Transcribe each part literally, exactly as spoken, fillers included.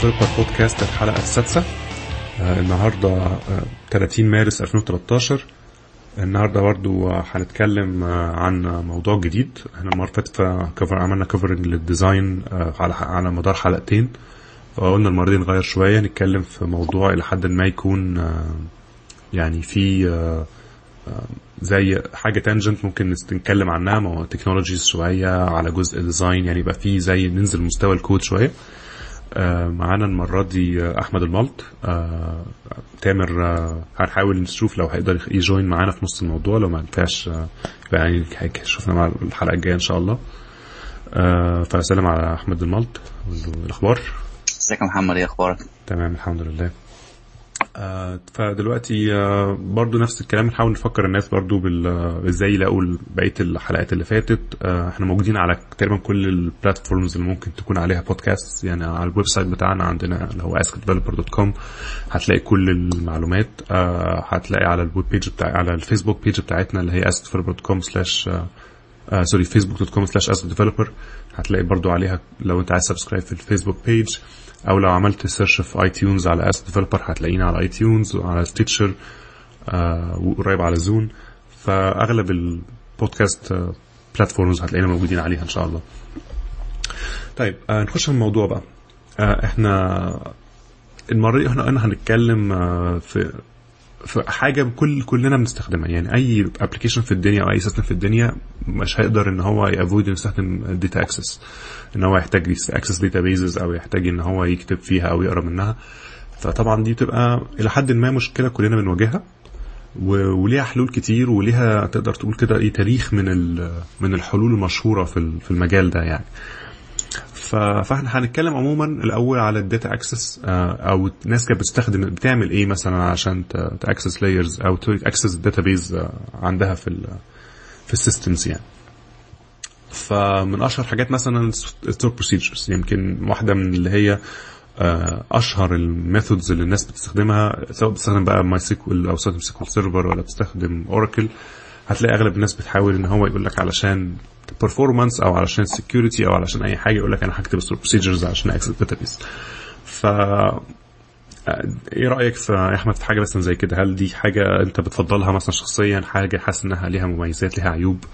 ديفلوبر بودكاست الحلقة السادسة. آه النهاردة آه ثلاثين مارس ألفين وثلاثة عشر. النهاردة برضو هنتكلم آه عن موضوع جديد. احنا المرة فاتت عملنا كفرنج للديزاين آه على على مدار حلقتين، فقلنا المرة دي نغير شوية، نتكلم في موضوع إلى حد ما يكون آه يعني في آه زي حاجة تانجنت ممكن نتكلم عنها، مو تكنولوجيز شوية على جزء ديزاين، يعني يبقى فيه زي ننزل مستوى الكود شوية. آه معانا المرة دي أحمد الملط. آه تامر آه هنحاول نشوف لو هيقدر يجوين معانا في نص الموضوع، لو ما نفعش آه يعني شوفنا مع الحلقة الجاية إن شاء الله. آه فسلام على أحمد الملط. الأخبار؟ ازيك يا محمد، ايه أخبارك؟ تمام الحمد لله. آه فدلوقتي آه برضو نفس الكلام، نحاول نفكر الناس برضو ازاي يلاقوا بقية الحلقات اللي فاتت. آه احنا موجودين على تقريبا كل البلاتفورمز اللي ممكن تكون عليها بودكاست، يعني على الويب سايت بتاعنا عندنا اللي هو ask developer dot com هتلاقي كل المعلومات. آه هتلاقي على الويب بيج بتاع على الفيسبوك بيج بتاعتنا اللي هي ask developer dot com slash آه سوري facebook dot com slash ask developer، هتلاقي برضو عليها لو انت عايز سبسكرايب في الفيسبوك بيج، او لو عملت سيرش في اي تيونز على اس ديفلوبر هتلاقينا على اي تيونز وعلى ستيتشر آه وقريب على زون. فاغلب البودكاست آه بلاتفورمز هتلاقينا موجودين عليها ان شاء الله. طيب آه نخش في الموضوع بقى. آه احنا المره دي احنا انا هنتكلم آه في في حاجه كل كلنا بنستخدمها، يعني اي ابلكيشن في الدنيا او اي سيستم في الدنيا مش هيقدر ان هو يافويد يستخدم الداتا اكسس، ان هو يحتاج اكسس داتابيزز او يحتاج ان هو يكتب فيها او يقرا منها. فطبعا دي بتبقى الى حد ما مشكله كلنا بنواجهها، وليها حلول كتير، وليها تقدر تقول كده ايه تاريخ من من الحلول المشهوره في في المجال ده يعني. فاحنا هنتكلم عموما الاول على الداتا اكسس، او الناس كانت بتستخدم بتعمل ايه مثلا عشان تاكسس لايرز او تاكسس الداتابيز عندها في في السيستمز يعني. فمن اشهر حاجات مثلا ستور بروسيجرز، يمكن واحده من اللي هي اشهر الميثودز اللي الناس بتستخدمها، سواء بتستخدم بقى ماي سيكوال او بتستخدم سيكوال سيرفر ولا بتستخدم اوراكل. هتلاقي اغلب الناس بتحاول ان هو يقول لك علشان performance او علشان security او علشان اي حاجه يقول لك انا هكتب ستور بروسيجرز عشان اكسس داتابيز. ف ايه رايك في يا احمد في حاجه مثلا زي كده؟ هل دي حاجه انت بتفضلها مثلا شخصيا، حاجه حاسس انها ليها مميزات ليها عيوب؟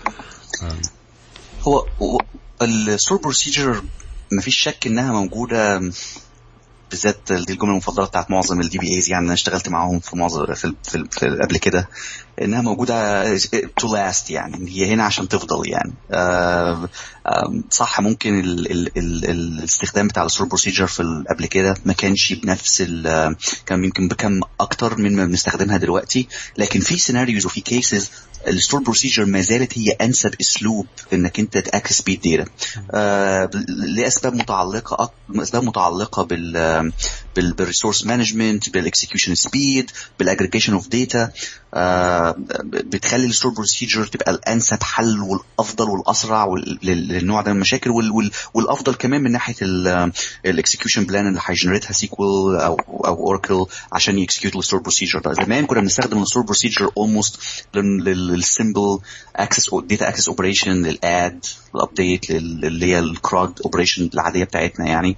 هو الستور بروسيجر مفيش شك انها موجوده، بالذات دي الجمله المفضله بتاعت معظم الدي بي ايز، يعني انا اشتغلت معاهم في معظم في, في, في قبل كده، انها موجوده to last، يعني هي هنا عشان تفضل يعني. آه آه صح، ممكن ال ال ال الاستخدام بتاع الستور بروسيجر في قبل كده ما كانش بنفس ال كان يمكن بكم اكتر من ما بنستخدمها دلوقتي، لكن في سيناريوز وفي كيسز الستور بروسيجر ما زالت هي انسب اسلوب انك انت تاكسس بيه الداتا، آه لاسباب متعلقه اسباب متعلقه بال بالريسورس مانجمنت، بالاكسكيوشن سبيد، بالاجريجيشن اوف داتا. بتخلي الستور بروسيجر تبقى الانسب حل والافضل والاسرع للنوع ده من المشاكل، والافضل كمان من ناحيه الاكسكيوشن بلان اللي هيجنريتها سيكوال او او اوراكل عشان يكسكيوت الستور بروسيجر ده. زمان كنا بنستخدم الستور بروسيجر اولموست للسيمبل اكسس داتا اكسس اوبريشن، للاد، الابديت، اللي هي الكراد اوبريشن العاديه بتاعتنا يعني.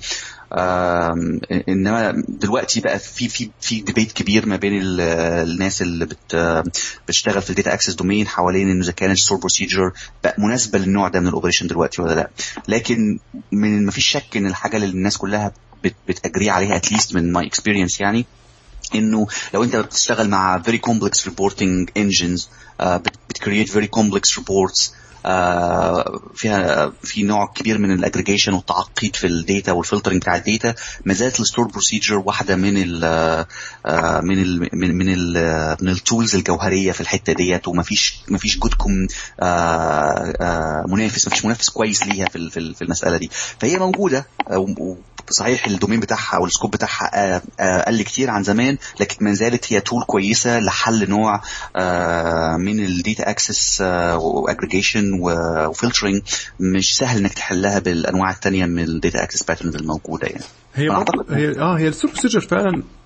انما دلوقتي بقى في في في ديبيت كبير ما بين الناس اللي بت بتشتغل في الداتا اكسس دومين حوالين انه اذا كان الستور بروسيجر بقى مناسبه للنوع ده من الاوبريشن دلوقتي ولا لا. لكن من ما فيش شك ان الحاجه اللي الناس كلها بت بتاجري عليها اتليست من ماي اكسبيرينس يعني، انه لو انت بتشتغل مع very complex reporting engines uh, بتكريت very complex reports آه فيها في نوع كبير من الاجريجيشن والتعقيد في الداتا والفلترنج بتاع الداتا، ما زالت الستور بروسيجر واحده من ال آه من ال من من ال من التولز الجوهريه في الحته ديت، وما فيش ما فيش جودكم آه آه منافس ما فيش منافس كويس ليها في في المساله دي. فهي موجوده، صحيح الدومين بتاعها او السكوب بتاعها قل كتير عن زمان، لكن ما زالت هي تول كويسه لحل نوع من الداتا اكسس واجريجيشن وفلترنج مش سهل انك تحلها بالانواع الثانيه من الداتا اكسس باترنز الموجوده يعني. هي هي اه هي السوبر بروسيجر فعلا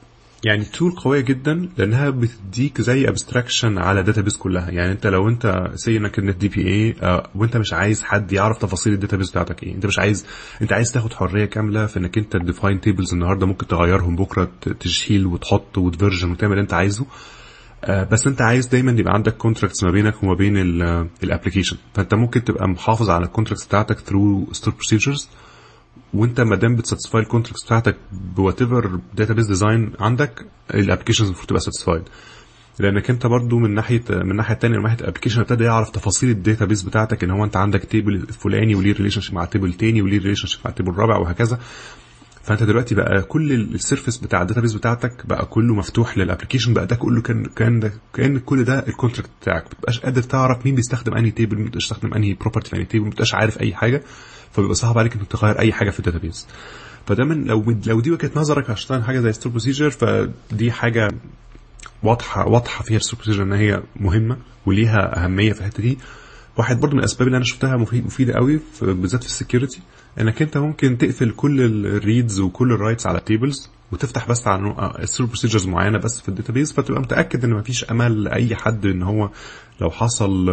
يعني تول قويه جدا لانها بتديك زي ابستراكشن على داتابيس كلها. يعني انت لو انت سي انك ان دي بي اي وانت مش عايز حد يعرف تفاصيل الداتابيس بتاعتك ايه، انت مش عايز، انت عايز تاخد حريه كامله في انك انت تديفاين تيبلز النهارده ممكن تغيرهم بكره، تشيل وتحط وتفيرجن وتعمل اللي انت عايزه. بس انت عايز دايما يبقى عندك كونتراكتس ما بينك وما بين الابلكيشن، فانت ممكن تبقى محافظ على الكونتراكتس بتاعتك ثرو ستور بروسيجرز، وانت ما دام بتساتسفاي الكونتراكتس بتاعتك بوات ايفر داتابيس ديزاين عندك، الابلكيشنز المفروض تبقى ساتسفايد. لانك انت برضو من ناحيه من الناحيه الثانيه، من ناحيه الابلكيشن ابتدى يعرف تفاصيل الداتابيس بتاعتك، ان هو انت عندك تيبل فلاني وليه ريليشن شيب مع تيبل تاني وليه ريليشن شيب مع تيبل رابع وهكذا. فانت دلوقتي بقى كل السيرفيس بتاع الداتابيس بتاعتك بقى كله مفتوح للابلكيشن، بقى ده كله كان كان كان كل ده الكونتراكت بتاعك. ما بتبقاش قادر تعرف مين بيستخدم انهي تيبل، مين بيستخدم انهي بروبرتي في انهي تيبل، ما بتبقاش عارف اي حاجه، فبيبقى صعب عليك انك تغير اي حاجه في الداتابيس. فده من لو لو دي وجهه نظرك عشان حاجه زي ستور بروسيجر، فدي حاجه واضحه واضحه فيها الستور بروسيجر ان هي مهمه وليها اهميه في الحته دي. واحد برضو من الاسباب اللي انا شفتها مفيده قوي بالذات في السكيورتي، انك انت ممكن تقفل كل الريدز وكل الرايتس على تيبلز وتفتح بس على الستور بروسيجرز معينه بس في الداتابيس، فتبقى متاكد ان مفيش امل لاي حد ان هو لو حصل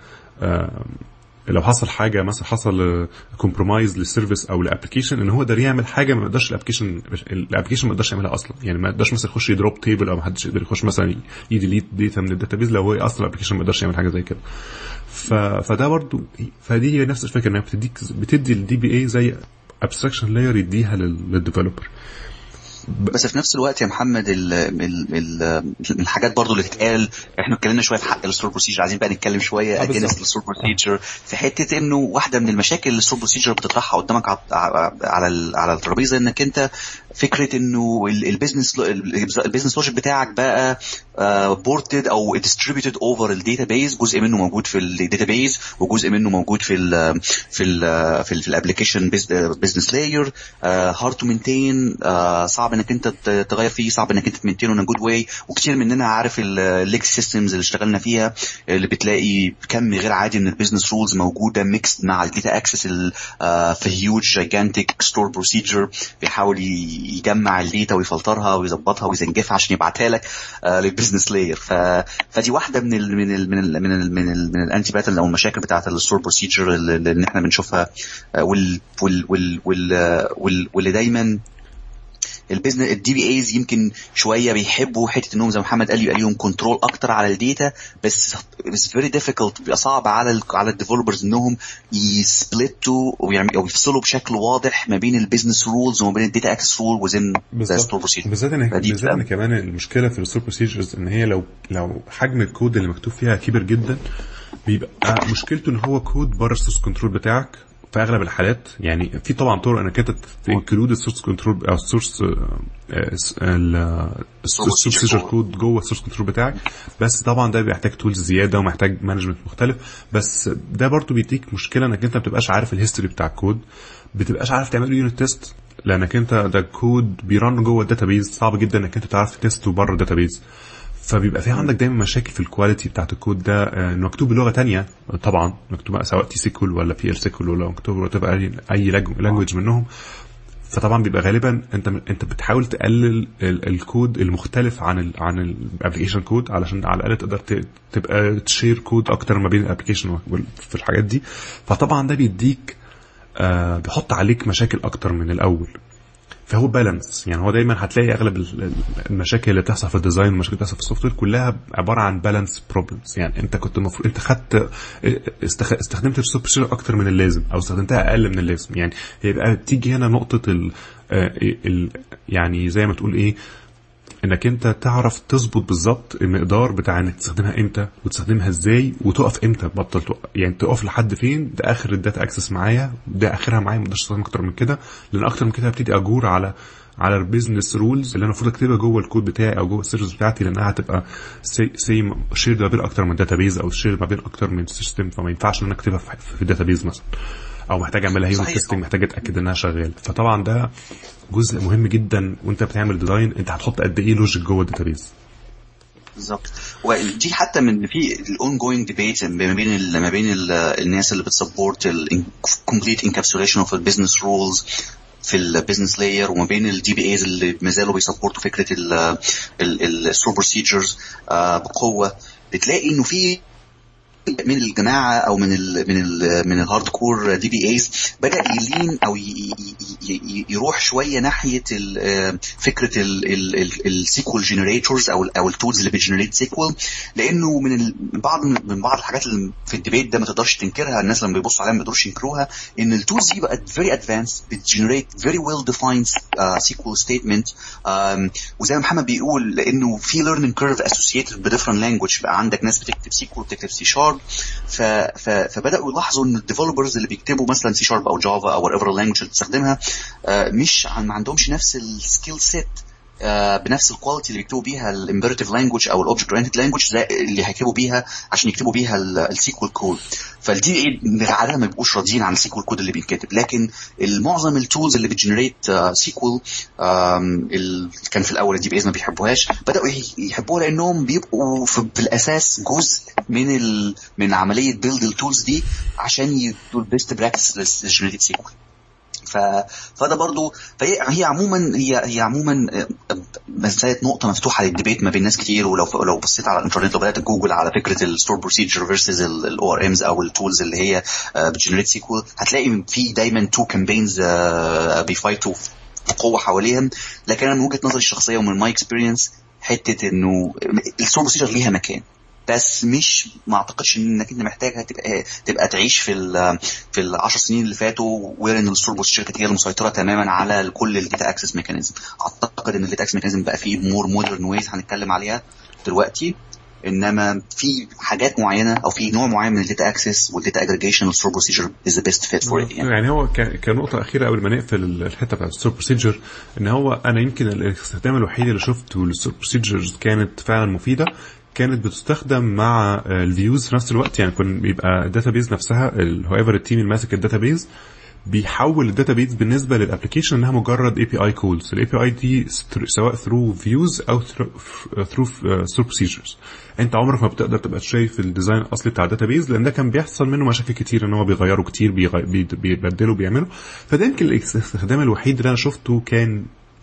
لو حصل حاجه مثلا حصل كومبرومايز للسيرفيس او الابلكيشن، ان هو ده يعمل حاجه ما يقدرش الابلكيشن الابلكيشن ما يقدرش يعملها اصلا. يعني ما يقدرش مثلا يخش يدروب تيبل، او ما حدش يقدر يخش مثلا يديليت داتا من الداتابيس لو هو اصلا الابلكيشن ما يقدرش يعمل حاجه زي كده. ف... فده برضو فدي هي نفس الفكره، انها بتديك بتدي الدي بي اي زي ابستراكشن لاير يديها للديفلوبر. بس في نفس الوقت يا محمد ال ال ال الحاجات برضو اللي تتقال، احنا اتكلمنا شويه في حق الستور بروسيجر، عايزين بقى نتكلم شويه اجينست الستور بروسيجر في حته انه واحده من المشاكل اللي الستور بروسيجر بتطرحها قدامك على على الترابيزه، انك انت فكره انه البيزنس البيزنس لوجيك بتاعك بقى بورتد او ديستريبيوتد اوفر الداتابيز، جزء منه موجود في الداتابيز وجزء منه موجود في ال في ال في الابلكيشن بيزنس لاير، هارد تو مينتين، صعب انك انت تغير فيه، صعب انك انت تمنتينه ان جود واي. وكتير مننا عارف الليكس سيستمز اللي اشتغلنا فيها اللي بتلاقي كم غير عادي من البيزنس رولز موجوده ميكس مع الداتا اكسس في هيوج جايجانتيك ستور بروسيجر، بيحاول يجمع الداتا ويفلترها ويظبطها ويزنجفها عشان يبعتها لك للبيزنس لاير. فدي واحده من ال من ال من ال من ال من, ال من الانتي باترن او المشاكل بتاعه الستور بروسيجر اللي احنا بنشوفها، وال وال وال واللي دايما البيزنس الدي بي ايز يمكن شويه بيحبوا حته انهم زي محمد قال يبقى ليهم كنترول اكتر على الداتا، بس it's very difficult، بيبقى صعب على ال على الديفلوبرز انهم يسبلتوا او يفصلوا بشكل واضح ما بين البيزنس رولز وما بين الداتا اكسس رول وزين الستور بروسيجر. بالذات ان بالذات ان كمان المشكله في الستور بروسيجرز ان هي لو لو حجم الكود اللي مكتوب فيها كبير جدا، بيبقى مشكلته ان هو كود بره السورس كنترول بتاعك في اغلب الحالات. يعني في طبعا طرق انك انت تنكلود السورس كنترول او السورس السورس بروسيجر كود جوه السورس كنترول بتاعك، بس طبعا ده بيحتاج تولز زياده ومحتاج مانجمنت مختلف. بس ده برضو بيديك مشكله انك انت ما بتبقاش عارف الهيستوري بتاع الكود، بتبقاش عارف تعمل يونت تيست، لانك انت ده الكود بيرن جوه الداتابيز، صعب جدا انك انت تعرف تيسته بره الداتابيز. فبيبقى في عندك دايما مشاكل في الكواليتي بتاعت الكود ده، انه مكتوب بلغه تانية طبعا، مكتوب سواء تي سيكول ولا بي ال سيكول ولا مكتوب تبقى اي لانجويج منهم. فطبعا بيبقى غالبا انت انت بتحاول تقلل الكود المختلف عن ال عن الابلكيشن كود، علشان على الاقل تقدر تبقى تشير كود اكتر ما بين الابلكيشن في الحاجات دي. فطبعا ده بيديك آه بيحط عليك مشاكل اكتر من الاول. فهو بالانس، يعني هو دايما هتلاقي اغلب المشاكل اللي بتحصل في الديزاين والمشاكل اللي بتحصل في السوفت وير كلها عباره عن بالانس بروبلمز. يعني انت كنت المفروض انت خدت استخدمت السوفت وير اكتر من اللازم او استخدمتها اقل من اللازم. يعني يبقى تيجي هنا نقطه ال ال يعني زي ما تقول ايه، انك انت تعرف تظبط بالظبط المقدار بتاع انك تستخدمها امتى وتستخدمها ازاي وتقف امتى، بطل تقف يعني تقف لحد فين، ده اخر الداتا اكسس معايا، ده اخرها معايا، ما اقدرش استخدم اكتر من كده، لان اكتر من كده هبتدي اجور على على البيزنس رولز اللي انا المفروض اكتبها جوه الكود بتاعي او جوه السيرفيس بتاعتي، لانها هتبقى سي شير ما بين اكتر من داتابيز او شير ما بين اكتر من سيستم، فما ينفعش ان انا اكتبها في الداتابيز مثلا، او محتاج اعملها يونت تيستنج، محتاج اتاكد انها شغاله. فطبعا ده جزء مهم جدا وانت بتعمل ديزاين، انت هتحط قد ايه لوجيك جوه الداتابيز بالظبط. ودي حتى من في الاون جوينج ديبيت ما بين ما بين الناس اللي بتسبورت الكومبليت انكابسوليشن اوف البيزنس رولز في البيزنس لاير وما بين الدي بي ايز اللي مازالوا بيسبورتوا فكره الستور بروسيجرز بقوه، بتلاقي انه في من الجماعه او من ال من ال من الهارد كور دي بي ايز بدا يلين او يروح شويه ناحيه فكره السيكوال جنريتورز او او التولز اللي بتجنريت سيكوال، لانه من بعض من بعض الحاجات اللي في الديبيت ده ما تقدرش تنكرها، الناس لما بيبصوا عليها ما بيقدروش ينكروها، ان التولز دي بقت فيري ادفانس، بتجنريت فيري ويل ديفايند سيكوال ستيتمنت، وزي ما محمد بيقول لانه في ليرنينج كيرف اسوسييتد بديفرنت لانجويج، بقى عندك ناس بتكتب سيكوال بتكتب سي شارب، ف... ف... فبداوا يلاحظوا ان الديفلوبرز اللي بيكتبوا مثلا سي شارب او جافا او whatever language اللي بتستخدمها مش ما عندهمش نفس السكيل سيت بنفس الكواليتي اللي بيكتبوا بيها الامبيراتيف لانجويج او الاوبجكت اورينتد لانجويج اللي هيكتبوا بيها عشان يكتبوا بيها السيكوال كود. فالدي اي عاده ما بيبقوش راضيين عن السيكوال كود اللي بينكتب، لكن المعظم التولز اللي بتجنريت سيكوال كان في الاول الدي بي ايز ما بيحبوهاش، بداوا يحبوها لانهم بيبقوا في الاساس جزء من ال... من عمليه بيلد التولز دي عشان يدوا البيست براكتس للجنريتد سيكوال. ف... فده برضو فهي هي عموما هي هي عموما مساله نقطه مفتوحه للديبيت ما بين ناس كتير. ولو لو بصيت على الانترنت لو بدات جوجل على فكره الستور بروسيجر فيرسز الاو ار امز او التولز اللي هي بتجنريت سيكوال، هتلاقي في دايما تو كامبينز بيفايتوا بقوه حواليهم. لكن انا من وجهه نظري الشخصيه ومن ماي اكسبيرينس حته انه الستور بروسيجر ليها مكان، بس مش ما اعتقدش انك انت محتاجها تبقى تبقى تعيش في ال في العشر سنين اللي فاتوا وين الستور بروسيجر كانت هي المسيطره تماما على كل الداتا اكسس ميكانيزم. اعتقد ان الداتا اكسس ميكانيزم بقى فيه مور مودرن ويز هنتكلم عليها دلوقتي، انما في حاجات معينه او في نوع معين من الداتا اكسس والداتا اجريجيشن والستور بروسيجر از ذا بيست فيت فور ات. يعني هو كنقطه اخيره قبل ما نقفل الحته بتاعت الستور بروسيجر، ان هو انا يمكن الاستخدام الوحيد اللي شفته للستور بروسيجرز كانت فعلا مفيده كانت بتستخدم مع الفيوز في نفس الوقت. يعني كان بيبقى الداتابيز نفسها الهويفر التيم اللي ماسك الداتابيز بيحول الداتابيز بالنسبه للابلكيشن انها مجرد اي بي اي كولز. الاي بي اي دي سواء ثرو فيوز او ثرو ستور بروسيجرز، انت عمرك ما بتقدر تبقى شايف الديزاين الاصلي بتاع الداتابيز لان ده كان بيحصل منه مشاكل كتير، ان هو بيغيروا كتير بيبدلوا بيعملوا. فده يمكن الاستخدام الوحيد اللي انا شفته كان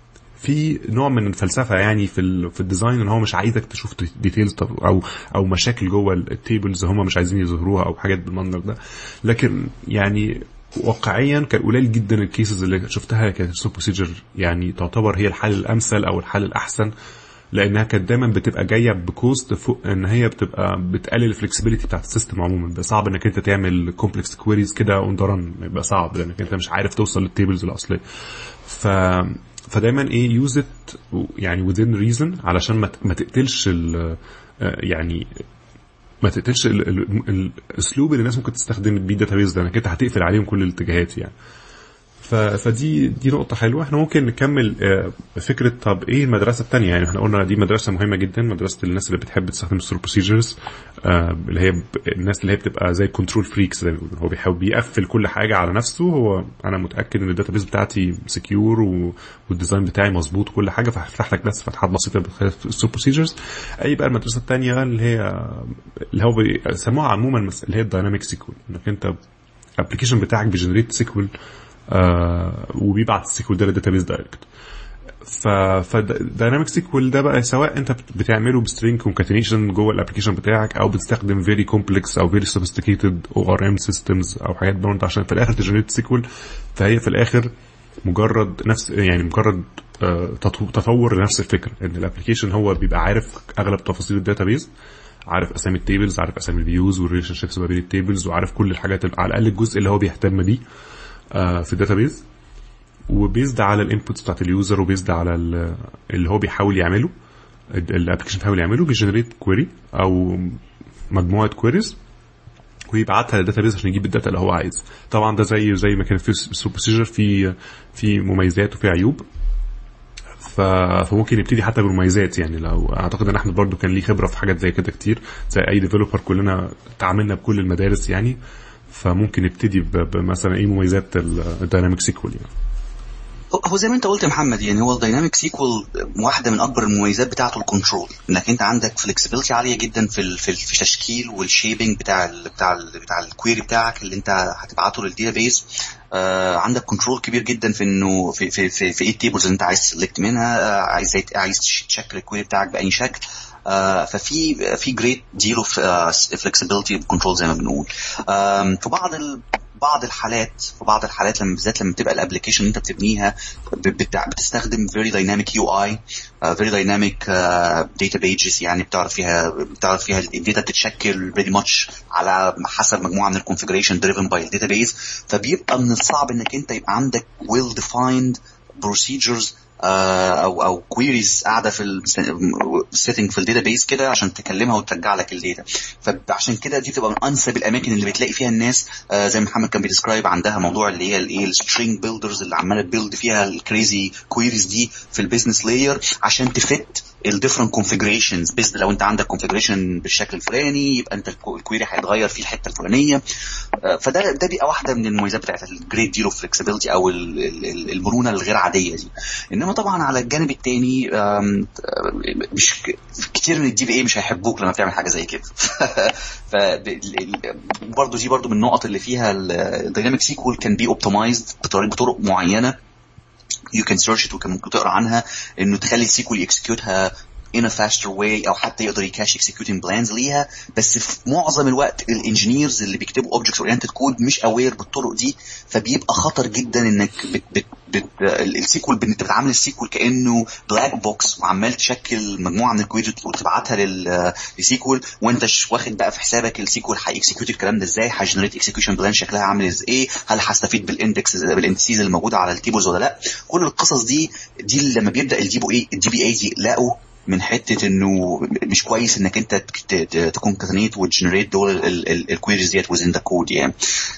في نوع من الفلسفه يعني في في الديزاين، ان هو مش عايزك تشوف ديتيلز او او مشاكل جوه التيبلز هم مش عايزين يظهروها او حاجات بالمنظر ده. لكن يعني واقعيا كان قليل جدا الكيسز اللي شفتها كانت الستور بروسيجر يعني تعتبر هي الحل الامثل او الحل الاحسن، لانها كانت دايما بتبقى جايه بكوست فوق ان هي بتبقى بتقلل الفلكسبيليتي بتاعت السيستم عموما. بقى صعب انك انت تعمل كومبلكس كويريز كده اون دران، يبقى صعب لانك انت مش عارف توصل للتيبلز الاصليه. ف فدايما ايه يوز ات يعني within reason علشان ما تقتلش ال يعني ما تقتلش الاسلوب اللي الناس ممكن تستخدم بيه الداتابيز ده، انك انت هتقفل عليهم كل الاتجاهات يعني. فدي دي نقطة حلوة. احنا ممكن نكمل فكرة طب ايه المدرسة التانية. يعني احنا قلنا دي مدرسة مهمة جدا، مدرسة الناس اللي بتحب تستخدم الستور بروسيجرز، اللي هي الناس اللي هي بتبقى زي كنترول فريكس زي ما بيقولوا، هو بيحاول بيقفل كل حاجة على نفسه. هو انا متأكد ان الداتابيز بتاعتي سكيور والديزاين بتاعي مظبوط وكل حاجة، فهفتح لك بس فتحات بسيطة بخلاف الستور بروسيجرز. اي بقى المدرسة التانية اللي هي اللي هو بيسموها عموما اللي هي الدايناميك سيكوال، انك انت الابلكيشن بتاعك بيجنريت سيكوال آه وبيبعت السيكوال ده للداتابيز دايركت. ف فدايناميك سيكوال ده بقى سواء انت بتعمله بسترينج كونكاتينيشن جوه الابلكيشن بتاعك او بتستخدم فيري كومبلكس او فيري سوفيستيكيتد او ار ام سيستمز او حاجات برضه عشان في الاخر تجنريت سيكوال. فهي في الاخر مجرد نفس يعني مجرد آه تطور لنفس الفكره، ان الابلكيشن هو بيبقى عارف اغلب تفاصيل الداتابيز، عارف اسامي التيبلز، عارف اسامي الفيوز والريليشن شيبس ما بين التيبلز، وعارف كل الحاجات على الاقل الجزء اللي هو بيهتم بيه في الداتابيز، وبيزد على الانبوتس بتاعت اليوزر وبيزد على اللي هو بيحاول يعمله الابلكيشن بيحاول يعمله، بيجنريت كويري او مجموعه كويريز ويبعتها للداتابيز عشان يجيب الداتا اللي هو عايز. طبعا ده زي زي ما كان في الستور بروسيجر في في مميزات وفي عيوب، فممكن نبتدي حتى بالمميزات. يعني لو اعتقد ان احمد برضو كان ليه خبره في حاجات زي كده كتير، زي اي ديفلوبر كلنا تعاملنا بكل المدارس يعني، فممكن نبتدي بمثلا ايه مميزات الدايناميك سيكوال يعني. هو زي ما انت قلت يا محمد، يعني هو الدايناميك سيكوال واحده من اكبر المميزات بتاعته الكنترول، انك انت عندك فلكسبيليتي عاليه جدا في ال في التشكيل والشيبنج بتاع ال بتاع ال بتاع الكويري بتاعك اللي انت هتبعته للداتابيس. آه عندك كنترول كبير جدا في انه في في في, في ايه التيبلز اللي انت عايز تسلكت منها، آه عايز عايز تشكل الكويري بتاعك باي شكل. آه ففي في جريت ديل اوف فلكسبيليتي كنترول زي ما بنقول. آه في بعض ال بعض الحالات في بعض الحالات لما بالذات لما تبقى الابلكيشن اللي انت بتبنيها بتستخدم very dynamic يو اي uh, very dynamic uh, data pages، يعني بتعرف فيها بتعرف فيها الداتا بتتشكل very much على حسب مجموعه من الكونفيجريشن driven by the database. فبيبقى من الصعب انك انت يبقى عندك well defined procedures او او كويريز قاعده في السيتنج في الداتابيس كده عشان تكلمها وترجع لك الداتا. فعشان كده دي بتبقى من انسب الاماكن اللي بتلاقي فيها الناس زي ما محمد كان بيديسكرايب عندها موضوع اللي هي الايه السترينج بيلدرز اللي عماله تبيلد فيها الكريزي كويريز دي في البيزنس لاير عشان تفت الديفرنت كونفيجريشنز. بس لو انت عندك كونفيجريشن بالشكل الفلاني يبقى انت الكويري هيتغير في الحته الفلانيه. فده ده بيبقى واحده من المميزات بتاعت الجريت ديل اوف فلكسبيليتي او المرونه الغير عاديه دي. انما طبعا على الجانب الثاني مش كتير من الدي بي اي مش هيحبوك لما بتعمل حاجه زي كده. ف برضه دي برضه من النقط اللي فيها الدايناميك سيكوال كان بي اوبتمايزد بطرق معينه you can search it وكان ممكن تقرا عنها انه تخلي السيكوال يكسكيوتها in a faster way او حتى يقدر يكاش executing plans ليها. بس في معظم الوقت الانجينيرز اللي بيكتبوا object oriented code مش aware بالطرق دي، فبيبقى خطر جدا انك بت بت بت السيكوال انت بتعامل السيكوال كانه بلاك بوكس وعمال تشكل مجموعه من الكويريز وتبعتها للسيكوال وانت مش واخد بقى في حسابك السيكوال هيكسكيوت الكلام ده ازاي، هيجنريت اكسكيوشن بلان شكلها عامل ازاي، هل هستفيد بالاندكس بالاندكسز اللي موجوده على التيبلز ولا لا. كل القصص دي دي لما بيبدا الدي بي اي الدي بي اي يلاقوا من حته انه مش كويس انك انت تكون كاتنيت وتجنريت دول الكويريز ديت وزين ذا كود يعني.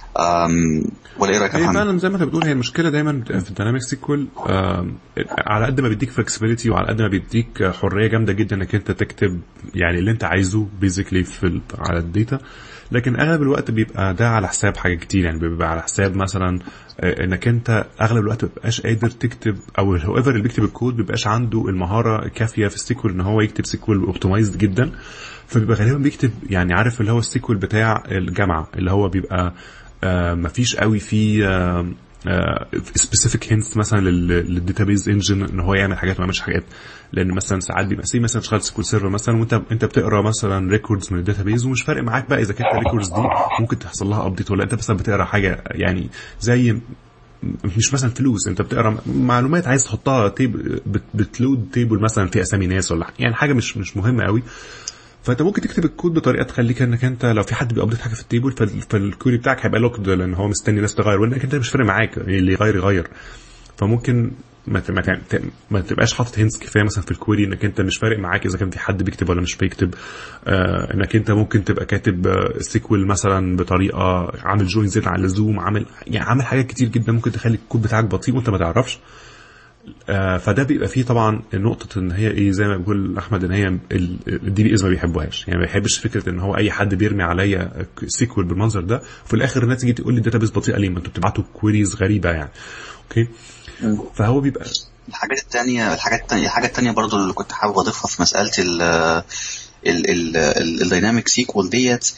ولا ايه رايك يا محمد؟ فعلا زي ما انت بتقول هي المشكله دايما في الديناميك سيكوال على قد ما بيديك فلكسبيليتي وعلى قد ما بيديك حريه جامده جدا انك انت تكتب يعني اللي انت عايزه بيزيكلي في على الداتا، لكن اغلب الوقت بيبقى ده على حساب حاجه كتير. يعني بيبقى على حساب مثلا انك انت اغلب الوقت مبقاش قادر تكتب او هويفر اللي بيكتب الكود بيبقاش عنده المهاره الكافيه في السيكوال ان هو يكتب سيكوال اوبتمايزد جدا. فبيبقى غالبا بيكتب يعني عارف اللي هو السيكوال بتاع الجامعه اللي هو بيبقى آه مفيش قوي في آه سبيسيفيك هينتس مثلا للداتابيز انجن ان هو يعمل حاجات ما يعملش حاجات. لان مثلا ساعات بيبقى سي مثلا شغال سيكوال سيرفر مثلا وانت انت بتقرا مثلا ريكوردز من الداتابيز ومش فارق معاك بقى اذا كانت الريكوردز دي ممكن تحصل لها ابديت ولا انت مثلا بتقرا حاجه يعني زي مش مثلا فلوس، انت بتقرا معلومات عايز تحطها تيبل بتلود تيبل مثلا في اسامي ناس ولا يعني حاجه مش مش مهمه قوي. فانت ممكن تكتب الكود بطريقه تخليك انك انت لو في حد بيابديت حاجه في التيبل فالكوري بتاعك هيبقى لوكد لان هو مستني ناس تغير وانك انت مش فارق معاك اللي يغير يغير. فممكن ما ما, ما تبقاش حاطط هينتس كفايه مثلا في الكوري انك انت مش فارق معاك اذا كان في حد بيكتب ولا مش بيكتب. آه انك انت ممكن تبقى كاتب آه سيكوال مثلا بطريقه عامل جوين زيت على اللزوم عامل يعني عامل حاجات كتير جدا ممكن تخلي الكود بتاعك بطيء وانت ما تعرفش. آه فده بيبقى فيه طبعا نقطه ان هي ايه زي ما بيقول احمد ان هي الدي بي از ما بيحبوهاش. يعني ما بيحبش فكره ان هو اي حد بيرمي عليا سيكوال بالمنظر ده وفي الاخر الناس تيجي تقول لي الداتابيس بطيئه ليه ما انتوا بتبعتوا كويريز غريبه يعني. اوكي فهو بيبقى الحاجات الثانيه الحاجات الثانيه الحاجه الثانيه برضو اللي كنت حابب اضيفها في مساله ال ال الدايناميك سيكوال ديت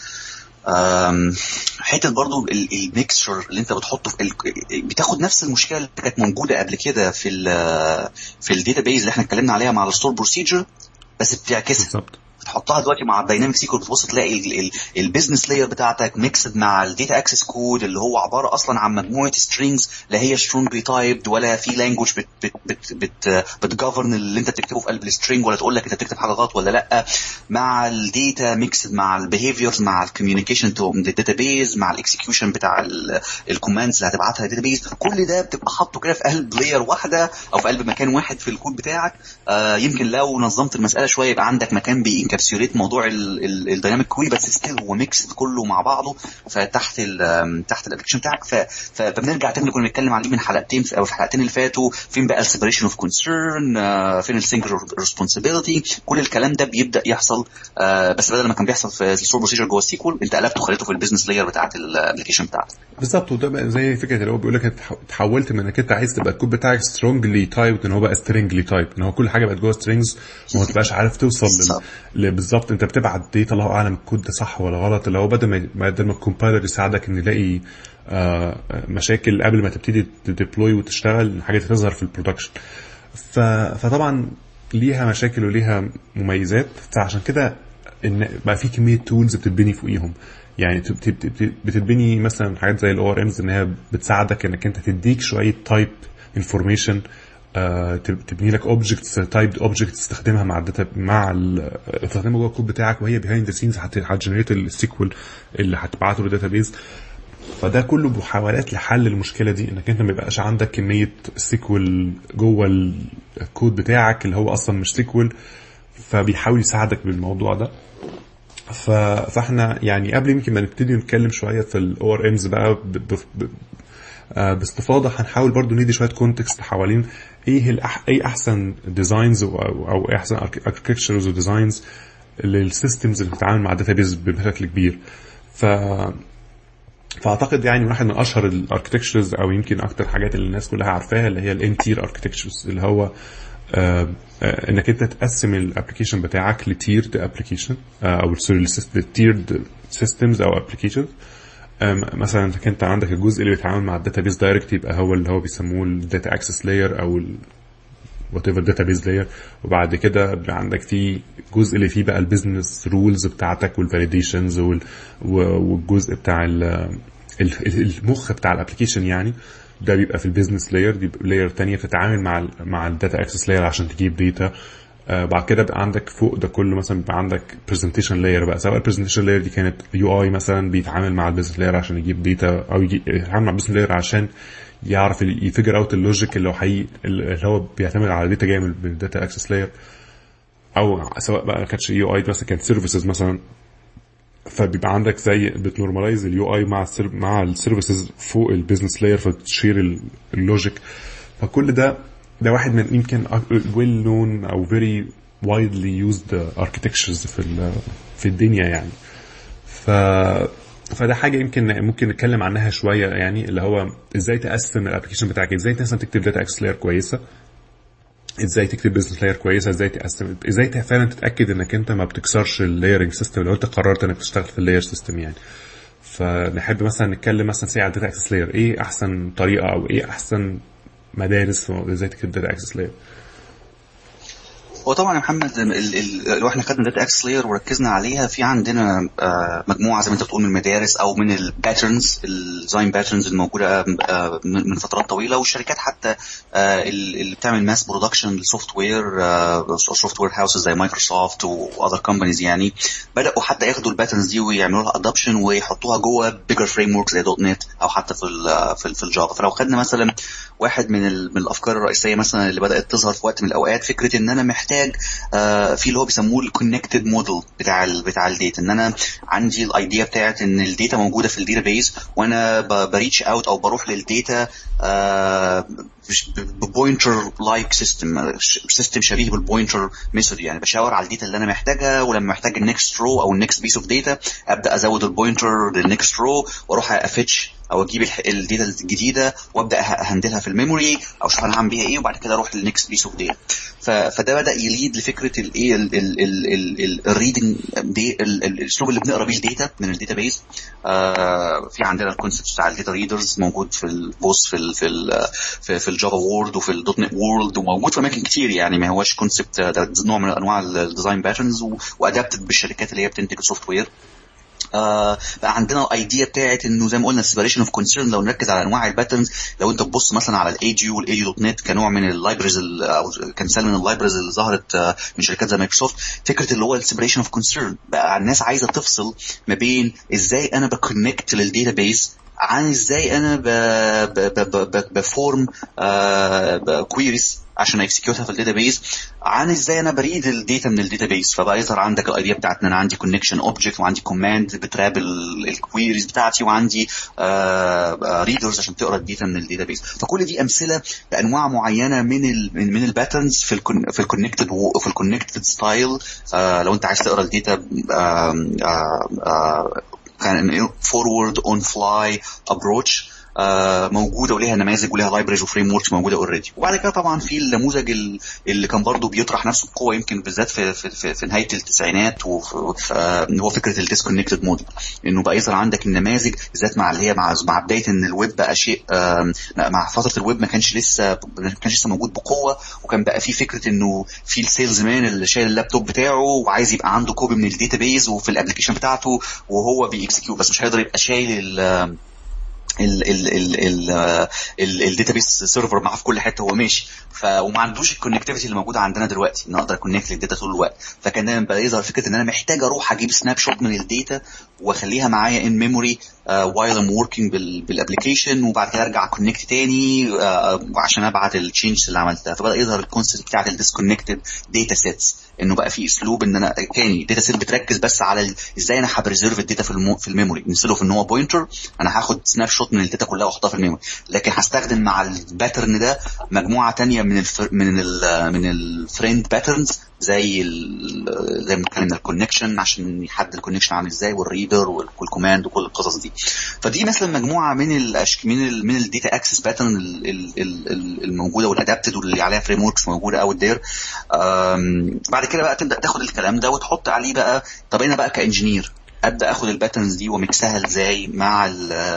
حته برضو الميكسشر اللي انت بتحطه في بتاخد نفس المشكله اللي كانت موجوده قبل كده في ال في الداتابيز اللي احنا اتكلمنا عليها مع الستور بروسيجر بس بتعكسها بالظبط. تحطها دلوقتي مع الدايناميك سيكوال بتبص تلاقي البيزنس لاير بتاعتك ميكسد مع الداتا اكسس كود اللي هو عباره اصلا عن مجموعه سترينجز لا هي سترونجلي تايبد ولا في لانجويج بت بت بت بت بتجفرن اللي انت بتكتبه في قلب السترينج ولا تقول لك انت بتكتب حاجه غلط ولا لا، مع الداتا ميكسد مع البيهيفيرز مع الكوميونيكيشن تو الداتابيز مع الاكسكيوشن بتاع الكوماندز اللي هتبعتها للداتابيز. كل ده بتبقى حاطه كده في قلب لاير واحده او في قلب مكان واحد في الكود بتاعك. آه يمكن لو نظمت المساله شويه يبقى عندك مكان بينكابسوليت موضوع الدايناميك كوي بس ستيل هو ميكس كله مع بعضه فتحت ال تحت الابلكيشن بتاعك. فبنرجع تاني كنا بنتكلم عليه من حلقتين او في حلقتين اللي فاتوا فين بقى السيبريشن اوف كونسيرن فين السنجلر ريسبونسابيلتي كل الكلام ده بيبدا يحصل. بس بدل ما كان بيحصل في الستور بروسيجر جوه السيكوال انت قلبته خليته في البيزنس لاير بتاعه الابلكيشن بتاعتك. بالظبط. وده زي فكره اللي هو بيقول لك اتحولت من انك انت عايز تبقى الكود بتاعك سترونجلي تايب ان هو بقى سترينجلي تايب، ان هو كل حاجه بقت جوه سترينجز وما تبقاش عارف توصل لل... بالظبط انت بتبعت داتا الله اعلم الكود ده صح ولا غلط. اللي هو بدل ما بدل ما الكومبايلر يساعدك ان يلاقي آه مشاكل قبل ما تبتدي تديبلوي وتشتغل الحاجات تظهر في البرودكشن. ف... فطبعا ليها مشاكل وليها مميزات. فعشان كده ان بقى في كميه تولز بتتبني فوقيهم. يعني بتتبني مثلا حاجات زي الاو ار امز انها بتساعدك انك انت تديك شويه تايب انفورميشن، تبني لك اوبجكتس تايب اوبجكتس تستخدمها مع الداتا مع تستخدمها جوه الكود بتاعك وهي بيهايند ذا سينز هتجنريت السيكوال اللي هتبعته للداتابيز. فده كله محاولات لحل المشكله دي، انك انت ما يبقاش عندك كميه سيكوال جوه الكود بتاعك اللي هو اصلا مش سيكوال. فبيحاول يساعدك بالموضوع ده. فاحنا يعني قبل يمكن ما نبتدي نتكلم شويه في الاو ار امز بقى ب... ب... ب... باستفاضه، هنحاول برضو ندي شويه كونتكست حوالين ايه الأح... ايه احسن ديزاينز او, أو ايه احسن اركتكتشرز وديزاينز للسيستمز اللي بتتعامل مع الداتابيز بشكل كبير. ف فاعتقد يعني واحد من اشهر الاركتكتشرز او يمكن اكتر حاجات اللي الناس كلها عارفاها اللي هي الان تير اركتكتشرز، اللي هو آه آه انك انت تقسم الابلكيشن بتاعك لتيرد ابلكيشن او تيرد سيستمز او ابلكيشن. مثلا انك انت عندك الجزء اللي بيتعامل مع الداتابيز دايركت يبقى هو اللي هو بيسموه الداتا اكسس لاير او وات ايفر داتابيز لاير. وبعد كده عندك في جزء اللي فيه بقى البيزنس رولز بتاعتك والفاليديشنز والجزء بتاع المخ بتاع الابلكيشن، يعني ده بيبقى في البيزنس لاير. دي لاير تانية بتتعامل مع ال مع الداتا اكسس لاير عشان تجيب داتا. آه بعد كده بقى عندك فوق ده كله مثلا بيبقى عندك برزنتيشن لاير بقى، سواء البرزنتيشن لاير دي كانت يو اي مثلا بيتعامل مع البيزنس لاير عشان يجيب داتا، او يتعامل مع البيزنس لاير عشان يعرف يفجر اوت اللوجيك اللي هو حقيقي اللي هو بيعتمد على داتا جايه من الداتا اكسس لاير. او سواء بقى كانتش يو اي بس كانت سيرفيسز مثلا، فبيبقى عندك زي بتنورماليز اليو اي مع السير مع السيرفيسز فوق البيزنس لاير فتشير اللوجيك. فكل ده ده واحد من يمكن ويل نون او فيري وايدلي يوزد اركتكتشرز في في الدنيا يعني. ف فده حاجه يمكن ممكن نتكلم عنها شويه، يعني اللي هو ازاي تقسم الابلكيشن بتاعك، ازاي مثلا تكتب داتا اكسس لاير كويسه، ازاي تكتب بزنس لاير كويسه، ازاي تقسم، ازاي فعلا تتاكد انك انت ما بتكسرش اللايرنج سيستم لو انت قررت انك تشتغل في اللاير سيستم يعني. فنحب مثلا نتكلم مثلا ساعه على الداتا اكسس لاير، ايه احسن طريقه او ايه احسن مدارس ازاي تكتب داتا اكسس لاير. هو طبعا يا محمد لو احنا خدنا داتا اكسس لاير وركزنا عليها، في عندنا مجموعه زي ما انت بتقول من المدارس او من الباترنز، الديزاين باترنز الموجوده من فترات طويله، والشركات حتى اللي بتعمل ماس برودكشن للسوفت وير، سوفت وير هاوسز زي مايكروسوفت واذر كومبانيز يعني بداوا حتى ياخدوا الباترنز دي ويعملوا لها ادابشن ويحطوها جوه بيجر فريم ورك زي دوت نت او حتى في ال في الجافا. فلو خدنا مثلا واحد من من الافكار الرئيسيه مثلا اللي بدات تظهر في وقت من الاوقات، فكره ان انا محتاج آه في اللي هو بيسموه الكونكتد موديل بتاع ال بتاع الداتا، ان انا عندي الايديا بتاعت ان الداتا موجوده في الداتابيس وانا بريتش اوت او بروح للداتا آه ببوينتر لايك سيستم سيستم شبيه بالبوينتر ميثود، يعني بشاور على الداتا اللي انا محتاجها، ولما محتاج النكست رو او النكست بيس اوف داتا ابدا ازود البوينتر للنكست رو واروح افتش او اجيب الداتا الجديده وابدا اهندلها في الميموري او اشوف انا هعمل بيها ايه، وبعد كده اروح للنكست بيس اوف داتا. فده بدا يليد لفكره الايه الريدنج دي، الاسلوب اللي بنقرا بيه الداتا من الداتابيس. آه في عندنا الكونسبت بتاع الداتا ريدرز موجود في البوست في ال في ال في, في الجافا وورد وفي الدوت نت وورلد، وموجود في اماكن كتير يعني، ما هوش كونسبت، ده نوع من انواع الديزاين باترنز وادابتد بالشركات اللي هي بتنتج سوفت وير. آه بقى عندنا الايديا بتاعت انه زي ما قلنا سيبريشن اوف كونسيرن. لو نركز على انواع الباترنز، لو انت تبص مثلا على الايديو والايديو دوت نت كنوع من اللايبرز او كمثال من اللايبرز اللي ظهرت آه من شركات زي مايكروسوفت، فكره اللي هو السيبريشن اوف كونسيرن. بقى الناس عايزه تفصل ما بين ازاي انا بكونكت للداتابيس عن ازاي انا بفورم كويريز عشان اكسكيوتها في الداتابيس، عن ازاي انا بريد الداتا من الداتابيس. فبقى يظهر عندك الايديا بتاعتنا انا عندي كونكشن اوبجكت وعندي كوماند بتراب الكويريز بتاعتي وعندي ريدرز عشان تقرا الداتا من الداتابيس. فكل دي امثله لانواع معينه من ال من الباترنز في ال في الكونكتد في الكونكتد ستايل. لو انت عايز تقرا الداتا كان فورورد اون فلاي ابروتش موجوده وليها نماذج وليها لايبريز وفريم وركس موجوده اوريدي. وبعد كده طبعا في النموذج اللي كان برضو بيطرح نفسه بقوه يمكن بالذات في في في, في نهايه التسعينات، وهو فكره الديسكونكتد موديل، انه بقى يظهر عندك النماذج بالذات مع اللي هي مع مع بدايه ان الويب بقى شيء، مع فتره الويب ما كانش لسه ما كانش لسه موجود بقوه، وكان بقى في فكره انه في السيلز مان اللي شايل اللابتوب بتاعه وعايز يبقى عنده كوبي من الداتابيز وفي الابلكيشن بتاعته وهو بيكسكيوت، بس مش هيقدر يبقى شايل ال ال ال ال ال الداتابيس سيرفر معاه في كل حته هو ماشي، ف وما عندوش الكونكتيفيتي اللي موجوده عندنا دلوقتي ان اقدر اكونكت للداتا طول الوقت. فكان دايما بقى يظهر فكره ان انا محتاج اروح اجيب سناب شوت من الداتا واخليها معايا ان ميموري وايل ام وركينج بالابلكيشن، وبعد كده ارجع كونكت تاني uh, عشان ابعت التشينجز اللي عملتها. فبدا يظهر الكونسيبت بتاعه الديسكونكتد داتا سيتس، انه بقى في اسلوب ان انا تاني داتا سيت بتركز بس على ازاي انا هبريزيرف الداتا في المو... في الميموري، مثله في ان هو بوينتر انا هاخد سناب شوت من الداتا كلها واحطها في الميموري، لكن هستخدم مع الباترن ده مجموعه تانية من الفر... من ال من الفريند باترنز زي ال زي ما اتكلمنا الكونكشن عشان يحدد الكونكشن عامل ازاي والريدر والكوماند وكل القصص دي. فدي مثلا مجموعه من الاشك من ال من الداتا اكسس باترن الموجوده والادابتد واللي عليها فريم وركس موجوده اوت دير. بعد كده بقى تبدا تاخد الكلام ده وتحط عليه بقى، طب انا بقى كانجينير ابدا اخد الباترنز دي ومكسها ازاي مع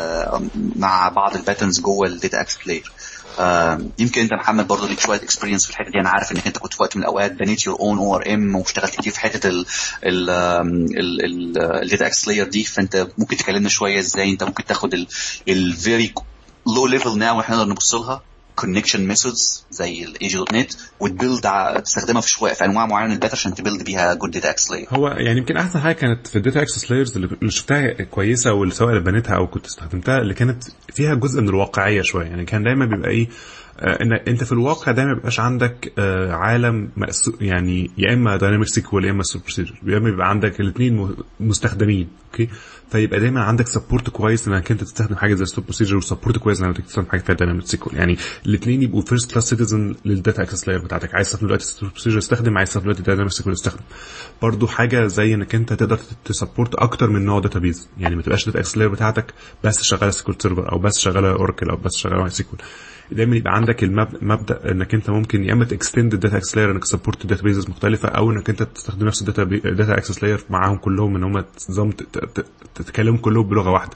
مع بعض الباترنز جوه الداتا اكسس بلاير. آه يمكن انت محمد برضه ليك شويه اكسبيرينس في الحته دي، انا عارف انك انت كنت في وقت من الاوقات بنيت يور اون او ار ام واشتغلت كتير في حته ال ال ال الداتا اكسس لاير دي، فانت ممكن تكلمنا شويه ازاي انت ممكن تاخد الفيري لو ليفل ناو احنا نقدر نبص لها كونكشن ميثودز زي الاي جي دوت نت وتبيلد تستخدمها في شويه في انواع معينه من الداتا عشان تبيلد بيها جود داتا اكسس لاير. هو يعني يمكن احسن حاجه كانت في الداتا اكسس لايرز اللي شفتها كويسه واللي سواء اللي بنيتها او كنت استخدمتها اللي كانت فيها جزء من الواقعيه شويه. يعني كان دايما بيبقى ايه ان انت في الواقع دايما بيبقاش عندك عالم يعني يا اما دايناميك سيكوال يا اما سوبر بروسيجر، يا اما بيبقى عندك الاثنين مستخدمين. اوكي، فيبقى دايما عندك سبورت كويس انك انت تستخدم حاجه زي السوبر بروسيجر، وسبورت كويس انك تستخدم حاجه فيها دايناميك سيكوال. يعني الاثنين يبقوا فيرست كلاس سيتيزن للداتا اكسس لاير بتاعتك. عايز تستخدم دلوقتي السوبر بروسيجر استخدم، عايز تستخدم دلوقتي دايناميك سيكوال استخدم. برضو حاجه زي انك انت تقدر تسبورت اكتر من نوع داتابيز، يعني ما تبقاش داتا اكسس لاير بتاعتك بس شغاله سيكوال سيرفر او بس شغاله اوراكل او بس شغاله سيكوال. دايما يبقى عندك المبدا انك انت ممكن يا اما تكستند الداتا اكسس لاير انك سبورت داتابيز مختلفه، او انك انت تستخدم نفس الداتا داتا اكسس لاير معاهم كلهم ان هم تنظم تتكلموا كلهم بلغه واحده.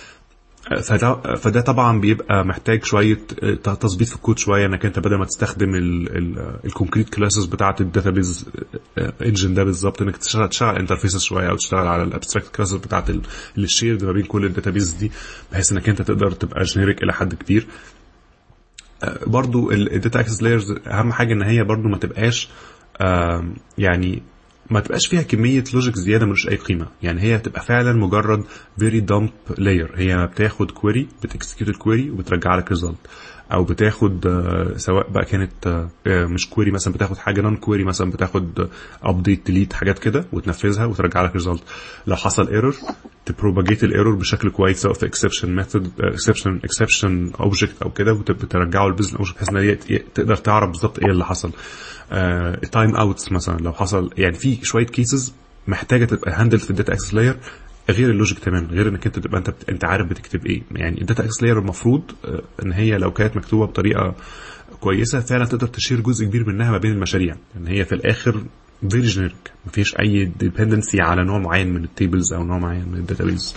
فده فده طبعا بيبقى محتاج شويه تظبيط في الكود شويه، انك انت بدل ما تستخدم الكونكريت كلاسز بتاعه الداتابيز انجن ده بالظبط انك تشتغل تشتغل انترفيسز شويه او تشتغل على الابستراكت كلاسز بتاعه اللي الشيرد ما بين كل الداتابيز دي، بحيث انك انت تقدر تبقى جينيريك الى حد كبير. برضو الداتا اكسس لايرز اهم حاجه ان هي برضو ما تبقاش يعني ما تبقاش فيها كميه لوجيك زياده ملوش اي قيمه. يعني هي تبقى فعلا مجرد فيري دامب لاير، هي بتاخد كويري بتكسكيوت الكويري وبترجع لك ريزلت، او بتاخد سواء بقى كانت مش كويري مثلا بتاخد حاجه نون كويري مثلا بتاخد ابديت ديليت حاجات كده وتنفذها وترجع لك ريزلت. لو حصل ايرور تبروباجيت الايرور بشكل كويس سواء في اكسبشن ميثود اكسبشن اكسبشن اوبجكت او كده وترجعه للبيزنس اوبجكت بحيث ان تقدر تعرف بالظبط ايه اللي حصل. تايم اوتس مثلا لو حصل، يعني في شويه كيسز محتاجه تبقى هاندل في الداتا اكسس لاير غير اللوجيك تماما، غير انك انت تبقى انت انت عارف بتكتب ايه. يعني الداتا اكسس لاير المفروض ان هي لو كانت مكتوبه بطريقه كويسه فعلا تقدر تشير جزء كبير منها ما بين المشاريع، لان هي في الاخر فيري جينيريك مفيش اي ديبندنسي على نوع معين من التيبلز او نوع معين من الداتابيز.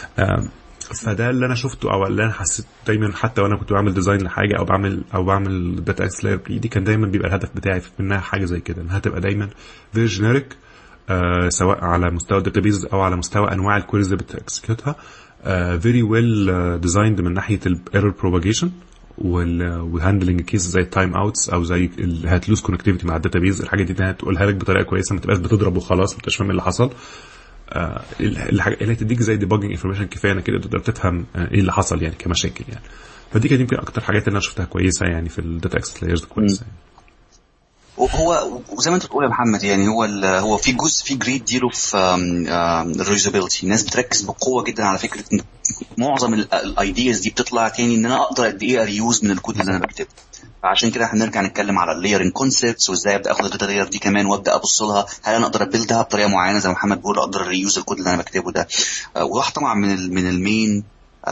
فده اللي انا شفته او اللي انا حسيت دايما حتى وانا كنت بعمل ديزاين لحاجه او بعمل او بعمل داتا اكسس لاير بايدي، كان دايما بيبقى الهدف بتاعي منها حاجه زي كده انها تبقى دايما فيري جينيريك آه سواء على مستوى الداتابيز او على مستوى انواع الكويريز اللي بتكسكيوتها، فيري ويل ديزايند من ناحيه الايرور بروباجيشن والهاندلنج كيس زي التايم اوتس او زي الهاتلوز كونكتيفيتي مع الداتابيز. الحاجه دي تقولها لك بطريقه كويسه، ما تبقاش بتضرب وخلاص ما تبقاش فاهم اللي حصل. آه الحاجه اللي تديك زي ديباجنج انفورميشن كفايه انك كده تقدر تفهم آه ايه اللي حصل يعني كمشاكل. يعني فدي كانت يمكن اكتر حاجات اللي انا شفتها كويسه يعني في الداتا اكسس لايرز كويسه. يعني هو وزي ما انت بتقول يا محمد، يعني هو هو في جزء في جريد ديله في الريوزابيلتي. الناس بتركز بقوه جدا على فكره ان معظم الايدياز دي بتطلع تاني ان انا اقدر قد ايه اريوز من الكود اللي انا بكتبه. عشان كده هنرجع نتكلم على اللايرنج كونسبتس وازاي ابدا اخد الداتا لاير دي كمان وابدا ابص لها هل انا اقدر ابيلدها بطريقه معينه زي ما محمد بيقول اقدر ريوز الكود اللي انا بكتبه ده. آه وواحد طبعا من ال من المين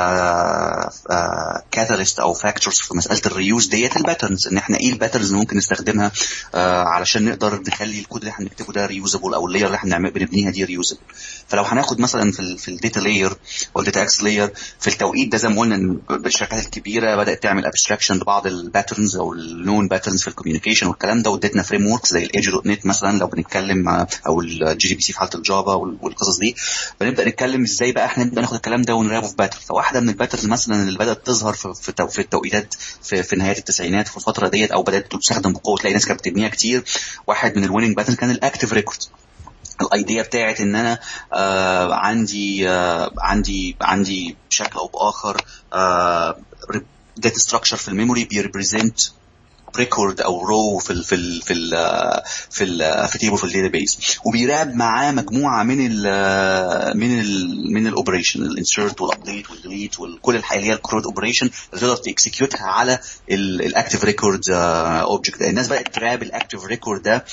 كاتاليست uh, uh, او فاكتورز في مساله الريوز ديت الباترنز، ان احنا ايه الباترنز اللي ممكن نستخدمها uh, علشان نقدر نخلي الكود اللي احنا بنكتبه ده ريوزابل او اللاير اللي احنا بنبنيها دي ريوزابل. فلو هناخد مثلا في ال في الداتا لاير او الداتا اكس لاير في التوقيت ده زي ما قلنا الشركات الكبيره بدات تعمل ابستراكشن لبعض الباترنز او النون باترنز في الكوميونيكيشن والكلام ده، وادتنا فريم ورك زي الايدج دوت نت مثلا لو بنتكلم او الجي دي بي سي في حاله الجافا والقصص دي. بنبدا نتكلم ازاي بقى احنا نبدا ناخد الكلام ده ونرابه في باترن. فواحده من الباترنز مثلا اللي بدات تظهر في في التوقيتات في, في نهايه التسعينات في الفتره ديت او بدات تستخدم بقوه تلاقي ناس كانت بتبنيها كتير، واحد من الويننج باترن كان الاكتيف ريكورد. الايديا بتاعت ان انا آه عندي آه عندي عندي بشكل او باخر آه داتا ستراكشر في الميموري بيريبريزنت ريكورد او رو في ال في ال في ال في ال في تيبل في الداتابيس، وبيراقب معاه مجموعه من ال من ال من الاوبريشن الانسيرت والابديت والديليت وكل الحاجات اللي هي الكرود اوبريشن اللي تقدر تكسكيوتها على الاكتيف ريكورد اوبجكت. الناس بقت تراقب الاكتيف ريكورد ده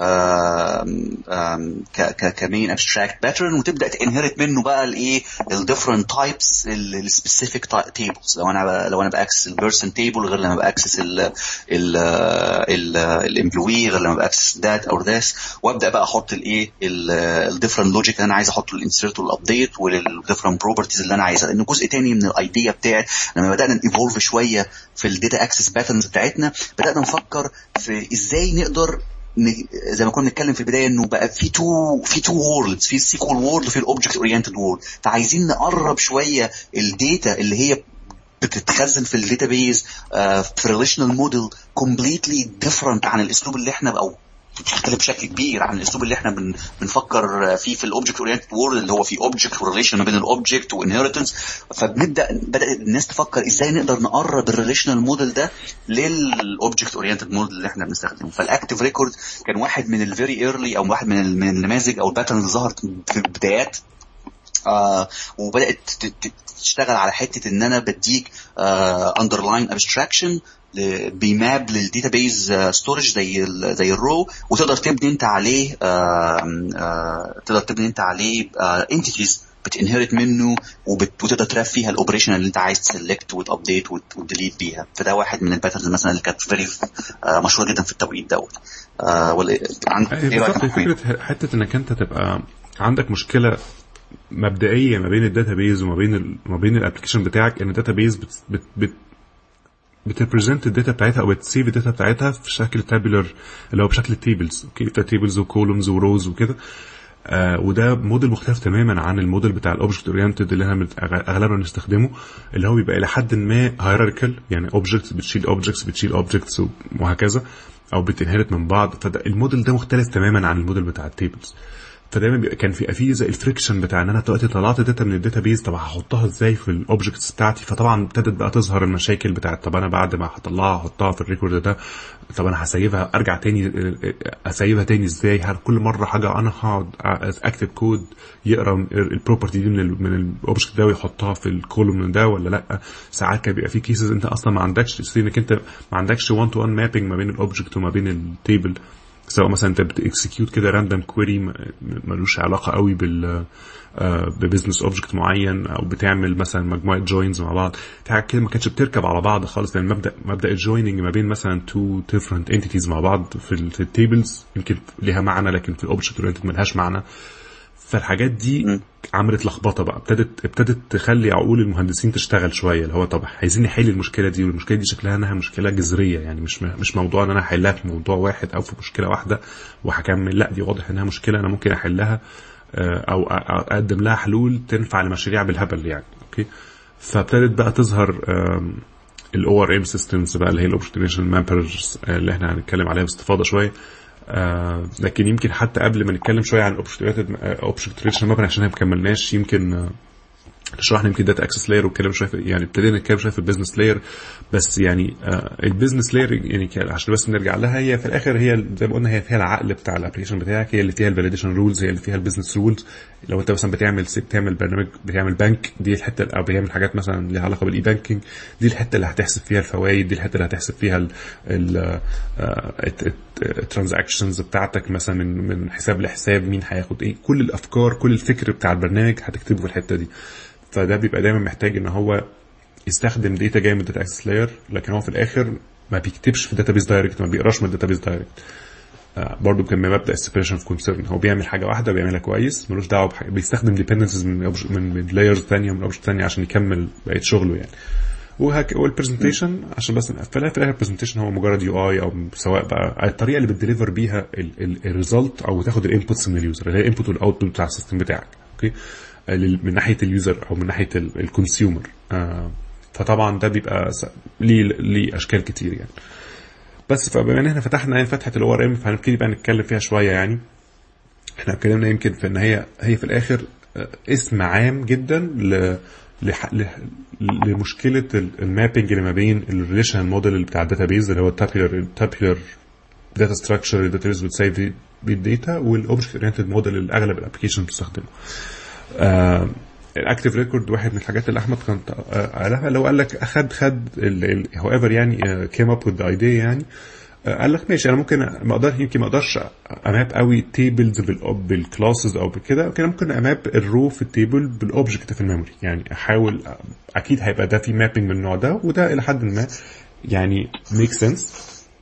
كمين ابستراكت باترن وتبدا تنهرت منه بقى الايه الديفرنت تايبس السبيسيفيك تيبلز. لو انا لو انا باكسس البيرسون تيبل غير لما باكسس ال الامبلوي غير لما باكسس ذات او ذس، وابدا بقى احط الايه الديفرنت لوجيك اللي انا عايز احطه للانسيرت والابديت والديفرنت بروبرتيز اللي انا عايزها. لانه جزء تاني من الايديا بتاعت لما بدانا نيفولف شويه في الداتا اكسس باترنز بتاعتنا بدانا نفكر في ازاي نقدر زي ما كنا بنتكلم في البدايه انه بقى في تو في تو وورلدز، في السيكوال وورلد وفي الاوبجكت اورينتد وورلد. فعايزين نقرب شويه الداتا اللي هي بتتخزن في الداتابيز في ريليشنال موديل كومبليتلي ديفرنت عن الاسلوب اللي احنا او بتختلف بشكل كبير عن الاسلوب اللي احنا بن بنفكر فيه في الاوبجكت اورينتد وورلد اللي هو في اوبجكت وريليشن ما بين الاوبجكت وانهيرتنس. فبنبدا بدات الناس تفكر ازاي نقدر نقرب الريليشنال موديل ده للاوبجكت اورينتد موديل اللي احنا بنستخدمه. فالاكتيف ريكورد كان واحد من الفيري ايرلي او واحد من من النماذج او الباترن اللي ظهرت في البدايات آه وبدات تشتغل على حته ان انا بديك اندرلاين آه ابستراكشن بيماب للداتابيز ستورج زي ال زي الرو، وتقدر تبني انت عليه آه آه تقدر تبني انت عليه انتيتيز آه بتنهرت منه وتقدر تراب فيها الاوبريشن اللي انت عايز تسلكت وتابديت وتديليت بيها. فده واحد من الباترنز مثلا اللي كانت فيري آه مشهوره جدا في التوقيت دوت. آه ولا بالظبط فكره حته انك انت تبقى عندك مشكله مبدئيه ما بين الداتابيز وما بين ال... ما بين الابلكيشن بتاعك، ان الداتابيز بت بت, بت... بتريبريزنت الداتا بتاعتها او بتسيف الداتا بتاعتها في شكل تابلر اللي هو بشكل تيبلز. اوكي في تيبلز وكولومز وروز وكده. آه وده موديل مختلف تماما عن الموديل بتاع الاوبجكت اورينتد اللي احنا اغلبنا بنستخدمه، اللي هو بيبقى الى حد ما هيراركال، يعني اوبجكتس بتشيل اوبجكتس بتشيل اوبجكتس وهكذا او بتنهرت من بعض. فالموديل ده مختلف تماما عن الموديل بتاع التيبلز. فدايما كان في في زي الفريكشن بتاع ان انا دلوقتي طلعت داتا من الداتابيز، طب هحطها ازاي في الاوبجكتس بتاعتي؟ فطبعا ابتدت بقى تظهر المشاكل بتاعت طب انا بعد ما هطلعها احطها في الريكورد ده، طب انا هسيبها ارجع تاني اسيبها تاني ازاي؟ هل كل مره حاجه انا هقعد اكتب كود يقرا البروبرتي دي من من الاوبجكت ده ويحطها في الكولوم ده ولا لا؟ ساعات كان بيبقى في كيسز انت اصلا ما عندكش انك انت ما عندكش واحد تو واحد مابينج ما بين الاوبجكت وما بين التيبل، سواء مثلا انت بتكسكيوت كده راندوم كويري ملوش علاقه قوي بال ببزنس اوبجكت معين، او بتعمل مثلا مجموعه جوينز مع بعض حاجه كده ما كانتش بتركب على بعض خالص. لان مبدا مبدا الجويننج ما بين مثلا تو ديفرنت انتيتيز مع بعض في التيبلز يمكن ليها معنى، لكن في الاوبجكت اورينتد ملهاش معنى. فالحاجات دي عملت لخبطه بقى، ابتدت ابتدت تخلي عقول المهندسين تشتغل شويه، اللي هو طب عايزين نحل المشكله دي، والمشكله دي شكلها انها مشكله جذريه، يعني مش مش موضوع ان انا احلها في موضوع واحد او في مشكله واحده وهكمل، لا دي واضح انها مشكله انا ممكن احلها او اقدم لها حلول تنفع لمشاريع بالهبل يعني. اوكي فابتدت بقى تظهر الاو ار ام سيستمز بقى اللي هي الاوبجكت ريليشن مابرز اللي احنا هنتكلم عليها باستفاضه شويه. آه لكن يمكن حتى قبل ما نتكلم شويه عن الاوبجكت اوبجكت ريليشن مابر عشان ما كملناش، يمكن آه شرحنا يمكن داتا اكسس لاير والكلام شويه يعني ابتدينا نتكلم شويه في البيزنس لاير بس يعني آه البيزنس لاير يعني عشان بس نرجع لها هي في الاخر هي زي ما قلنا هي فيها العقل بتاع الابلكيشن بتاعك هي اللي فيها الفاليديشن رولز هي اللي فيها البيزنس رولز لو انت مثلا بتعمل بتعمل برنامج بتعمل بنك دي الحته او بتعمل حاجات مثلا ليها علاقه بالاي بانكينج دي الحته اللي هتحسب فيها الفوائد دي الحته اللي هتحسب فيها الترانزاكشنز بتاعتك مثلا من من حساب لحساب مين هياخد ايه كل الافكار كل الفكر بتاع البرنامج هتكتبه في الحته دي فده بيبقى دايما محتاج ان هو يستخدم داتا جايه من الداتا اكسس لاير لكن هو في الاخر ما بيكتبش في الداتابيس دايركت ما بيقراش من الداتابيس دايركت آه برضه كان مبدا السيبريشن اوف كونسيرن هو بيعمل حاجه واحده بيعملها كويس ملوش دعوه بحاجه بيستخدم ديبندنسز من من, من لايرز ثانيه ومن اوبجكت ثانيه عشان يكمل بقيه شغله يعني وهك والبرزنتيشن عشان بس نقفلها في الاخر البرزنتيشن هو مجرد يو اي او سواء بقى الطريقه اللي بتديليفر بيها الريزلت او تاخد الانبوتس من اليوزر اللي هي الانبوت والاوتبوت بتاع السيستم بتاعك اوكي من ناحيه اليوزر او من ناحيه الكونسيومر آه فطبعا ده بيبقى ليه ليه اشكال كتير يعني بس فبما ان احنا فتحنا يعني فتحه الاو ار ام فهنبتدي بقى نتكلم فيها شويه يعني احنا اتكلمنا يمكن في ان هي هي في الاخر اسم عام جدا ل لمشكله المابينج اللي ما بين الريليشنال موديل بتاع الداتابيز اللي هو التابيلر التابيلر داتا ستراكشر الداتابيز بتسيف بالداتا والاوبجكت اورينتد موديل اللي اغلب الابلكيشن بتستخدمه آه الاكتيف ريكورد واحد من الحاجات اللي احمد كان قالها لو قال لك اخد خد هو ايفر يعني كيم اب وذ ذا ايديا يعني قال لك ماشي انا ممكن ما اقدر يمكن ما اقدرش اماب قوي تيبلز بالكلاسز او بكده كده ممكن اماب الرو في التيبل بالاوبجكت في الميموري يعني احاول اكيد هيبقى ده في مابينج من النوع ده وده الى حد ما يعني ميك سنس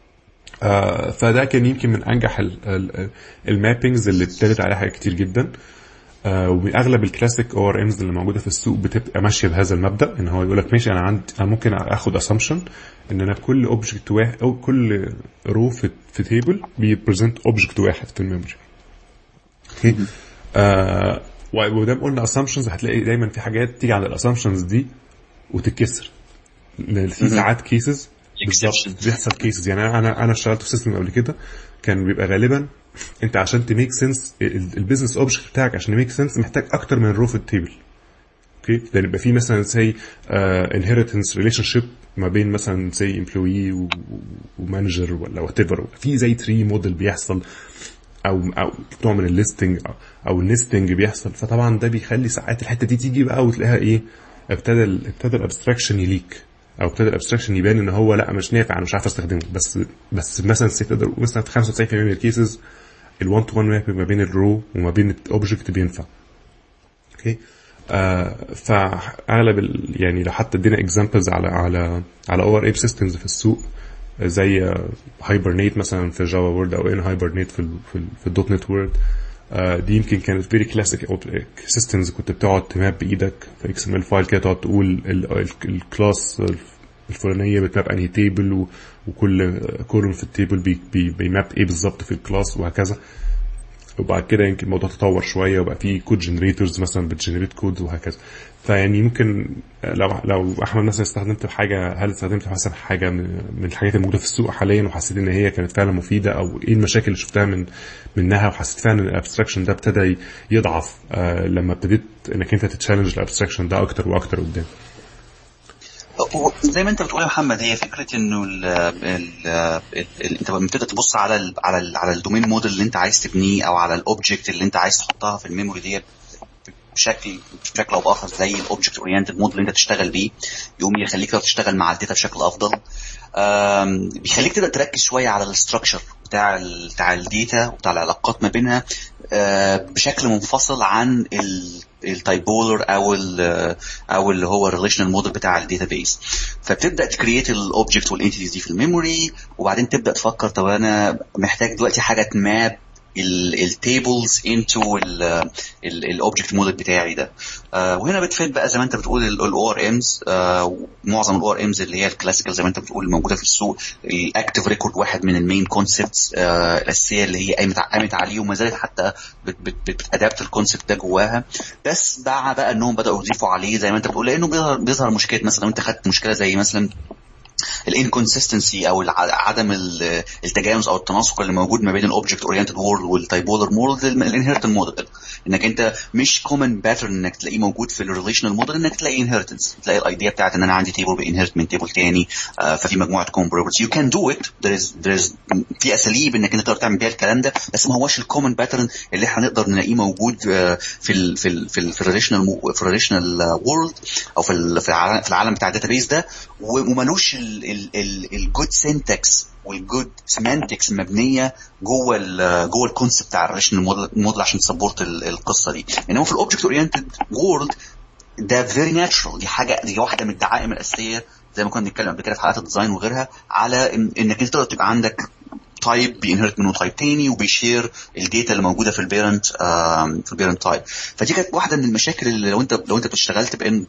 آه فده كان يمكن من انجح المابينجز اللي ابتدت عليها حاجات كتير جدا آه واغلب الكلاسيك او ار امز اللي موجوده في السوق بتبقى ماشيه بهذا المبدا ان هو يقول لك ماشي انا عندي انا ممكن اخد اسامبشن ان انا كل اوبجكت واحد او كل رو في في تيبل بيبريزنت اوبجكت واحد في الميموري اوكي آه وده قلنا اسامبشنز هتلاقي دايما في حاجات تيجي عند الاسامبشنز دي وتتكسر في ساعات كيسز بالظبط بيحصل كيسز يعني انا انا اشتغلت في سيستم قبل كده كان بيبقى غالبا انت عشان تميك سنس البيزنس اوبجكت بتاعك عشان يميك سنس محتاج اكتر من رو في التيبل اوكي لان يبقى في مثلا زي انهيرتنس ريليشن شيب ما بين مثلا زي امبلوي ومانجر ولا وات ايفر في زي تري موديل بيحصل او او نوع من الليستنج او, أو النستنج بيحصل فطبعا ده بيخلي ساعات الحته دي تيجي بقى وتلاقيها ايه ابتدى ابتدى الابستراكشن يليك او ابتدى الابستراكشن يبان ان هو لا مش نافع انا مش عارف استخدمه بس بس مثلا تقدر مثلا في خمسة وتسعين بالمية من الكيسز الوان تو وان ماب ما بين الرو وما بين الاوبجكت بينفع اوكي آه فاغلب يعني لو حتى ادينا اكزامبلز على على على او ار اي سيستمز في السوق زي هايبرنيت مثلا في جافا وورد او ان هايبرنيت في في, في الدوت نت وورد آه دي يمكن كانت فيري كلاسيك سيستمز كنت بتقعد تماب بايدك في اكس ام ال فايل كده تقعد تقول الكلاس الفلانيه بتماب انهي تيبل وكل كولوم في التيبل بي بي بيماب ايه بالظبط في الكلاس وهكذا وبعد كده يمكن الموضوع تطور شويه وبقى في كود جنريتورز مثلا بتجنريت كود وهكذا فيعني يمكن لو لو احمد مثلا استخدمت حاجه هل استخدمت مثلا حاجه من الحاجات الموجوده في السوق حاليا وحسيت ان هي كانت فعلا مفيده او ايه المشاكل اللي شفتها من منها وحسيت فعلا ان الابستراكشن ده ابتدى يضعف آه لما ابتديت انك انت تتشالنج الابستراكشن ده اكتر واكتر قدام زي ما انت بتقول يا محمد هي فكره انه ال ال ال انت بتبدا تبص على ال على ال على الدومين موديل اللي انت عايز تبنيه او على الاوبجكت اللي انت عايز تحطها في الميموري دي بشكل بشكل او باخر زي الاوبجكت اورينتد موديل اللي انت تشتغل بيه يقوم يخليك تشتغل مع الداتا بشكل افضل بيخليك تبدا تركز شويه على الاستراكشر بتاع بتاع الداتا وبتاع العلاقات ما بينها بشكل منفصل عن التايبولر او ال او اللي هو الريليشنال موديل بتاع الداتابيس فبتبدا تكريت الاوبجكت والانتيتيز دي في الميموري وبعدين تبدا تفكر طب انا محتاج دلوقتي حاجه تماب التيبلز انتو الاوبجكت موديل بتاعي ده آه وهنا بتفيد بقى زي ما انت بتقول الاو ار امز آه معظم الاو ار امز اللي هي الكلاسيكال زي ما انت بتقول موجوده في السوق الاكتيف ريكورد واحد من المين كونسبتس آه الاساسيه اللي هي قامت قامت عليه وما زالت حتى بتادابت الكونسبت ده جواها بس مع بقى انهم بداوا يضيفوا عليه زي ما انت بتقول لانه بيظهر بيظهر مشكله مثلا لو انت خدت مشكله زي مثلا الانكونسستنسي او عدم التجانس او التناسق اللي موجود ما بين الاوبجكت اورينتد وورلد والتايبولر موديل الانهيرتنت موديل، انك انت مش كومن باترن انك تلاقيه موجود في الريليشنال موديل، انك تلاقي انهيرتنس، تلاقي الايديا بتاعت ان انا عندي تيبل بانهيرت من تيبل تاني، آه ففي مجموعه كومن بروبرتيز. يو كان دو ات، there is there is في اساليب انك انت تقدر تعمل بيها الكلام ده، بس ما هوش الكومن باترن اللي احنا نقدر نلاقيه موجود آه في ال في ال في الريليشنال في الريليشنال وورلد او في في العالم بتاع الداتابيز ده، ومالوش الجود سينتاكس والجود سيمانتكس مبنيه جوه ال جوه الكونسبت بتاع الريليشنال موديل عشان تسبورت القصه دي. انما في الاوبجكت اورينتد وورلد ده فيري ناتشرال، دي حاجه، دي واحده من الدعائم الاساسيه زي ما كنا بنتكلم قبل كده في حلقات الديزاين وغيرها، على إن انك انت تقدر تبقى عندك تايب بينهرت منه تايب تاني وبيشير الداتا اللي موجوده في البيرنت في البيرنت تايب. فدي كانت واحده من المشاكل اللي لو انت لو انت اشتغلت بان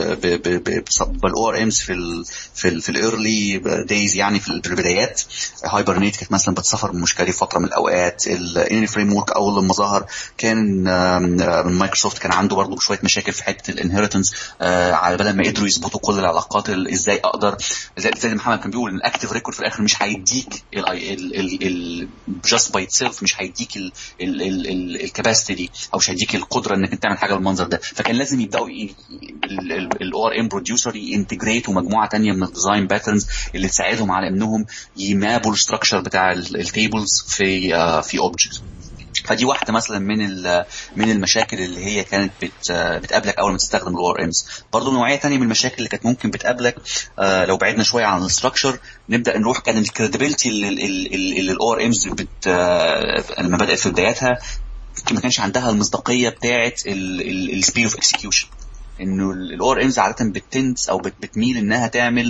بالاو ار امز في ال في ال في الايرلي دايز، يعني في البدايات. هايبرنيت كانت مثلا بتسفر من مشكله فتره من الاوقات. الاني فريم ورك اول لما ظهر كان مايكروسوفت كان عنده برضو شويه مشاكل في حته الانهيرتنس، على بال ما قدروا يظبطوا كل العلاقات ازاي اقدر، زي محمد كان بيقول ان الاكتيف ريكورد في الاخر مش هيديك ال ال just by itself، مش هيديك الكاباسيتي دي او مش هيديك القدره انك انت تعمل حاجه بالمنظر ده. فكان لازم يبداوا الاو ار ام بروديوسر ينتجريتوا مجموعه تانية من الديزاين باترنز اللي تساعدهم على انهم يمابوا الستراكشر بتاع التيبلز في في اوبجكت. فدي واحده مثلا من من المشاكل اللي هي كانت بت بتقابلك اول ما تستخدم الاو ار امز. برضه نوعيه ثانيه من المشاكل اللي كانت ممكن بتقابلك آه لو بعدنا شويه عن الستراكشر نبدا نروح، كان الكريديبيليتي اللي الاو ار امز بت لما بدات في بداياتها ما كانش عندها المصداقيه بتاعه السبيد اوف اكسكيوشن. انه الاو ار امز عاده بتنس او بتميل انها تعمل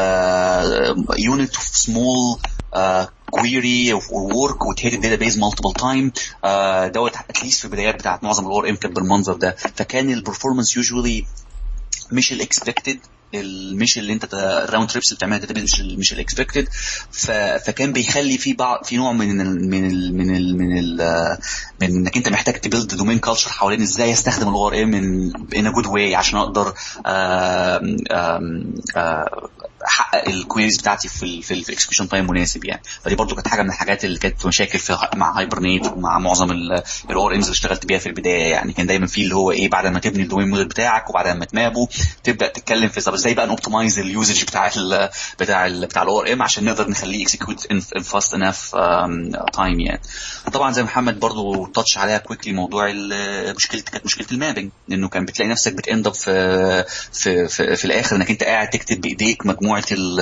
يونت اوف سمول query or work وتهيد الداتابيز multiple time. uh, دوت اتليست في البدايات بتاعت معظم الاو ار ام كانت بالمنظر ده. فكان البرفورمانس يوجوالي مش الاكسبكتد، مش اللي انت الراوند تريبس اللي بتعملها داتابيز مش مش الاكسبكتد. فكان بيخلي في بعض في نوع من ال من ال من ال من ال من انك انت محتاج تبيلد دومين كلتشر حوالين ازاي استخدم الاو ار ام ان ا جود واي عشان اقدر احقق الكويريز بتاعتي في ال في الاكسكيوشن تايم مناسب يعني. فدي برضو كانت حاجه من الحاجات اللي كانت مشاكل في مع هايبرنيت ومع معظم الاو ار امز اللي اشتغلت بيها في البدايه يعني. كان دايما في اللي هو ايه، بعد ما تبني الدومين موديل بتاعك وبعد ما تمابه تبدا تتكلم في ازاي بقى نوبتمايز اليوزج بتاع ال بتاع ال بتاع الاو ار ام عشان نقدر نخليه اكسكيوت ان فاست انف تايم يعني. طبعا زي محمد برضو تاتش عليها كويكلي موضوع المشكله كانت مشكله المابنج، لانه كان بتلاقي نفسك بتاند اب في في في, في الاخر انك انت قاعد تكتب بايديك مجموعه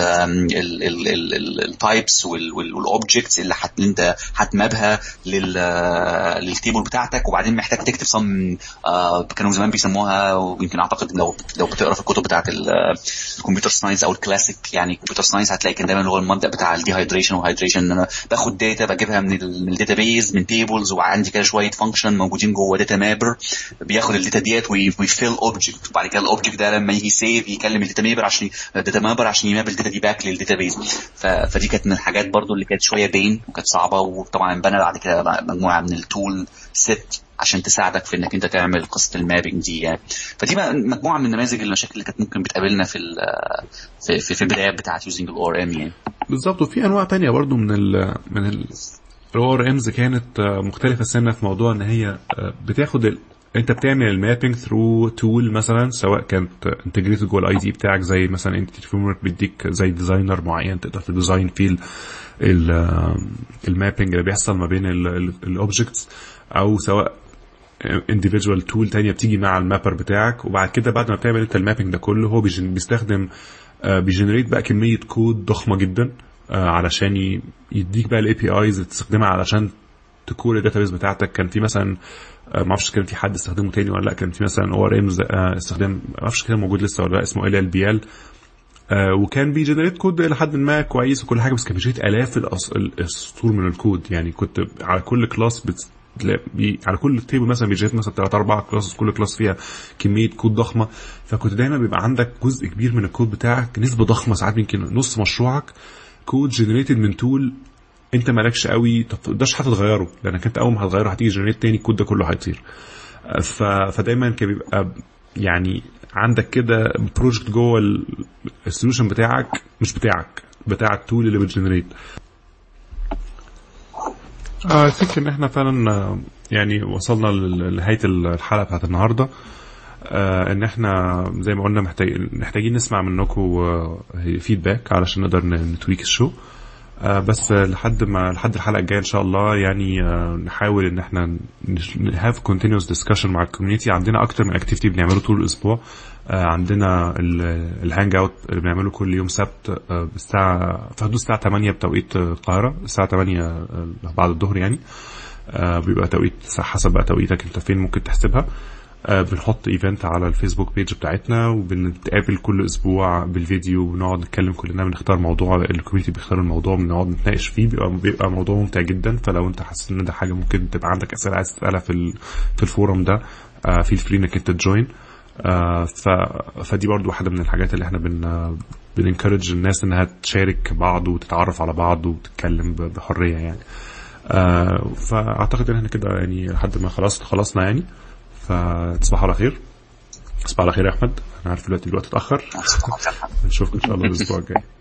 التايبس والاوبجكتس اللي حت انت هتمابها للتيبل بتاعتك، وبعدين محتاج تكتب صم آه كانوا زمان بيسموها، ويمكن اعتقد لو لو بتقرا في الكتب بتاعه الكمبيوتر ساينس او الكلاسيك يعني الكمبيوتر ساينس هتلاقي كان دايما اللي هو المبدا بتاع الديهايدريشن والهايدريشن، ان انا باخد داتا بجيبها من الداتابيز من تيبلز، وعندي كده شويه فانكشن موجودين جوه داتا مابر بياخد الداتا ديت ويفيل اوبجكت، وبعد كده الاوبجكت ده لما يجي سيف يكلم الداتا مابر عشان الداتا مابر عشان يماب الداتا دي باك للداتابيز. فدي كانت من الحاجات برضو اللي كانت شويه بين وكانت صعبه، وطبعا بنى بعد كده مجموعه من التول سيت عشان تساعدك في انك انت تعمل قصه المابنج دي يعني. فدي مجموعه من نماذج المشاكل اللي كانت ممكن بتقابلنا في في في البدايات بتاعه يوزنج الاو ار ام يعني. بالظبط. وفي انواع تانية برضو من ال من الاو ار امز كانت مختلفه سنه في موضوع ان هي بتاخد ال... انت بتعمل المابنج ثرو تول مثلا، سواء كانت انتجريتد جوه الاي دي بتاعك زي مثلا انت فريمورك بيديك زي ديزاينر معين تقدر تديزاين فيه المابنج اللي بيحصل ما بين الاوبجكتس، او سواء individual tool تانية بتيجي مع المابر بتاعك. وبعد كده بعد ما بتعمل انت المابنج ده كله هو بيستخدم بيجنريت بقى كمية كود ضخمة جدا علشان يديك بقى الاي بي ايز اللي تستخدمها علشان تكور الداتابيس بتاعتك. كان في مثلا ما اعرفش كان في حد استخدمه تاني ولا لا، كان في مثلا او ار امز استخدام ما اعرفش كده موجود لسه ولا لا، اسمه ال ال بي ال، وكان بيجنريت كود الى حد ما كويس وكل حاجه، بس كان بيجنريت الاف الاسطور من الكود يعني. كنت على كل كلاس بت... بي... على كل تيبل مثلا بيجنريت مثلا ثلاثة أربعة كلاس، كل كلاس فيها كميه كود ضخمه. فكنت دايما بيبقى عندك جزء كبير من الكود بتاعك، نسبه ضخمه ساعات يمكن نص مشروعك كود جنريتد من تول انت مالكش قوي تقدرش حتى تغيره، لانك انت اول ما هتغيره هتيجي جنريت تاني الكود ده كله هيطير. ف... فدايما كان بيبقى يعني عندك كده بروجكت جوه السوليوشن بتاعك مش بتاعك بتاع التول اللي بتجنريت. اه فكر ان احنا فعلا يعني وصلنا لنهايه الحلقه بتاعت النهارده. آه ان احنا زي ما قلنا محتاج محتاجين نسمع منكم فيدباك علشان نقدر نتويك الشو. آه بس لحد ما لحد الحلقه الجايه ان شاء الله يعني آه نحاول ان احنا have continuous discussion مع الكوميونتي. عندنا اكتر من اكتيفيتي بنعمله طول الاسبوع. آه عندنا الهانج اوت اللي بنعمله كل يوم سبت آه الساعه في حدود الساعه ثمانية بتوقيت القاهره، الساعه ثمانية آه بعد الظهر يعني. آه بيبقى توقيت حسب بقى توقيتك انت فين ممكن تحسبها. آه بنحط ايفنت على الفيسبوك بيج بتاعتنا وبنتقابل كل اسبوع بالفيديو وبنقعد نتكلم كلنا، بنختار موضوع الكوميونتي بيختار الموضوع بنقعد نتناقش فيه. بيبقى, بيبقى موضوع ممتع جدا. فلو انت حاسس ان ده حاجه ممكن تبقى عندك اسئله عايز تسالها في في الفورم ده آه فيل فري انك انت تجوين. آه ف فدي برضو واحده من الحاجات اللي احنا بن بننكرج الناس انها تشارك بعض وتتعرف على بعض وتتكلم بحريه يعني. آه فاعتقد ان احنا كده يعني لحد ما خلاص خلصنا يعني. فتصبحوا على خير. تصبح على خير يا احمد. انا عارف دلوقتي الوقت اتاخر. نشوفكم ان شاء الله الاسبوع الجاي.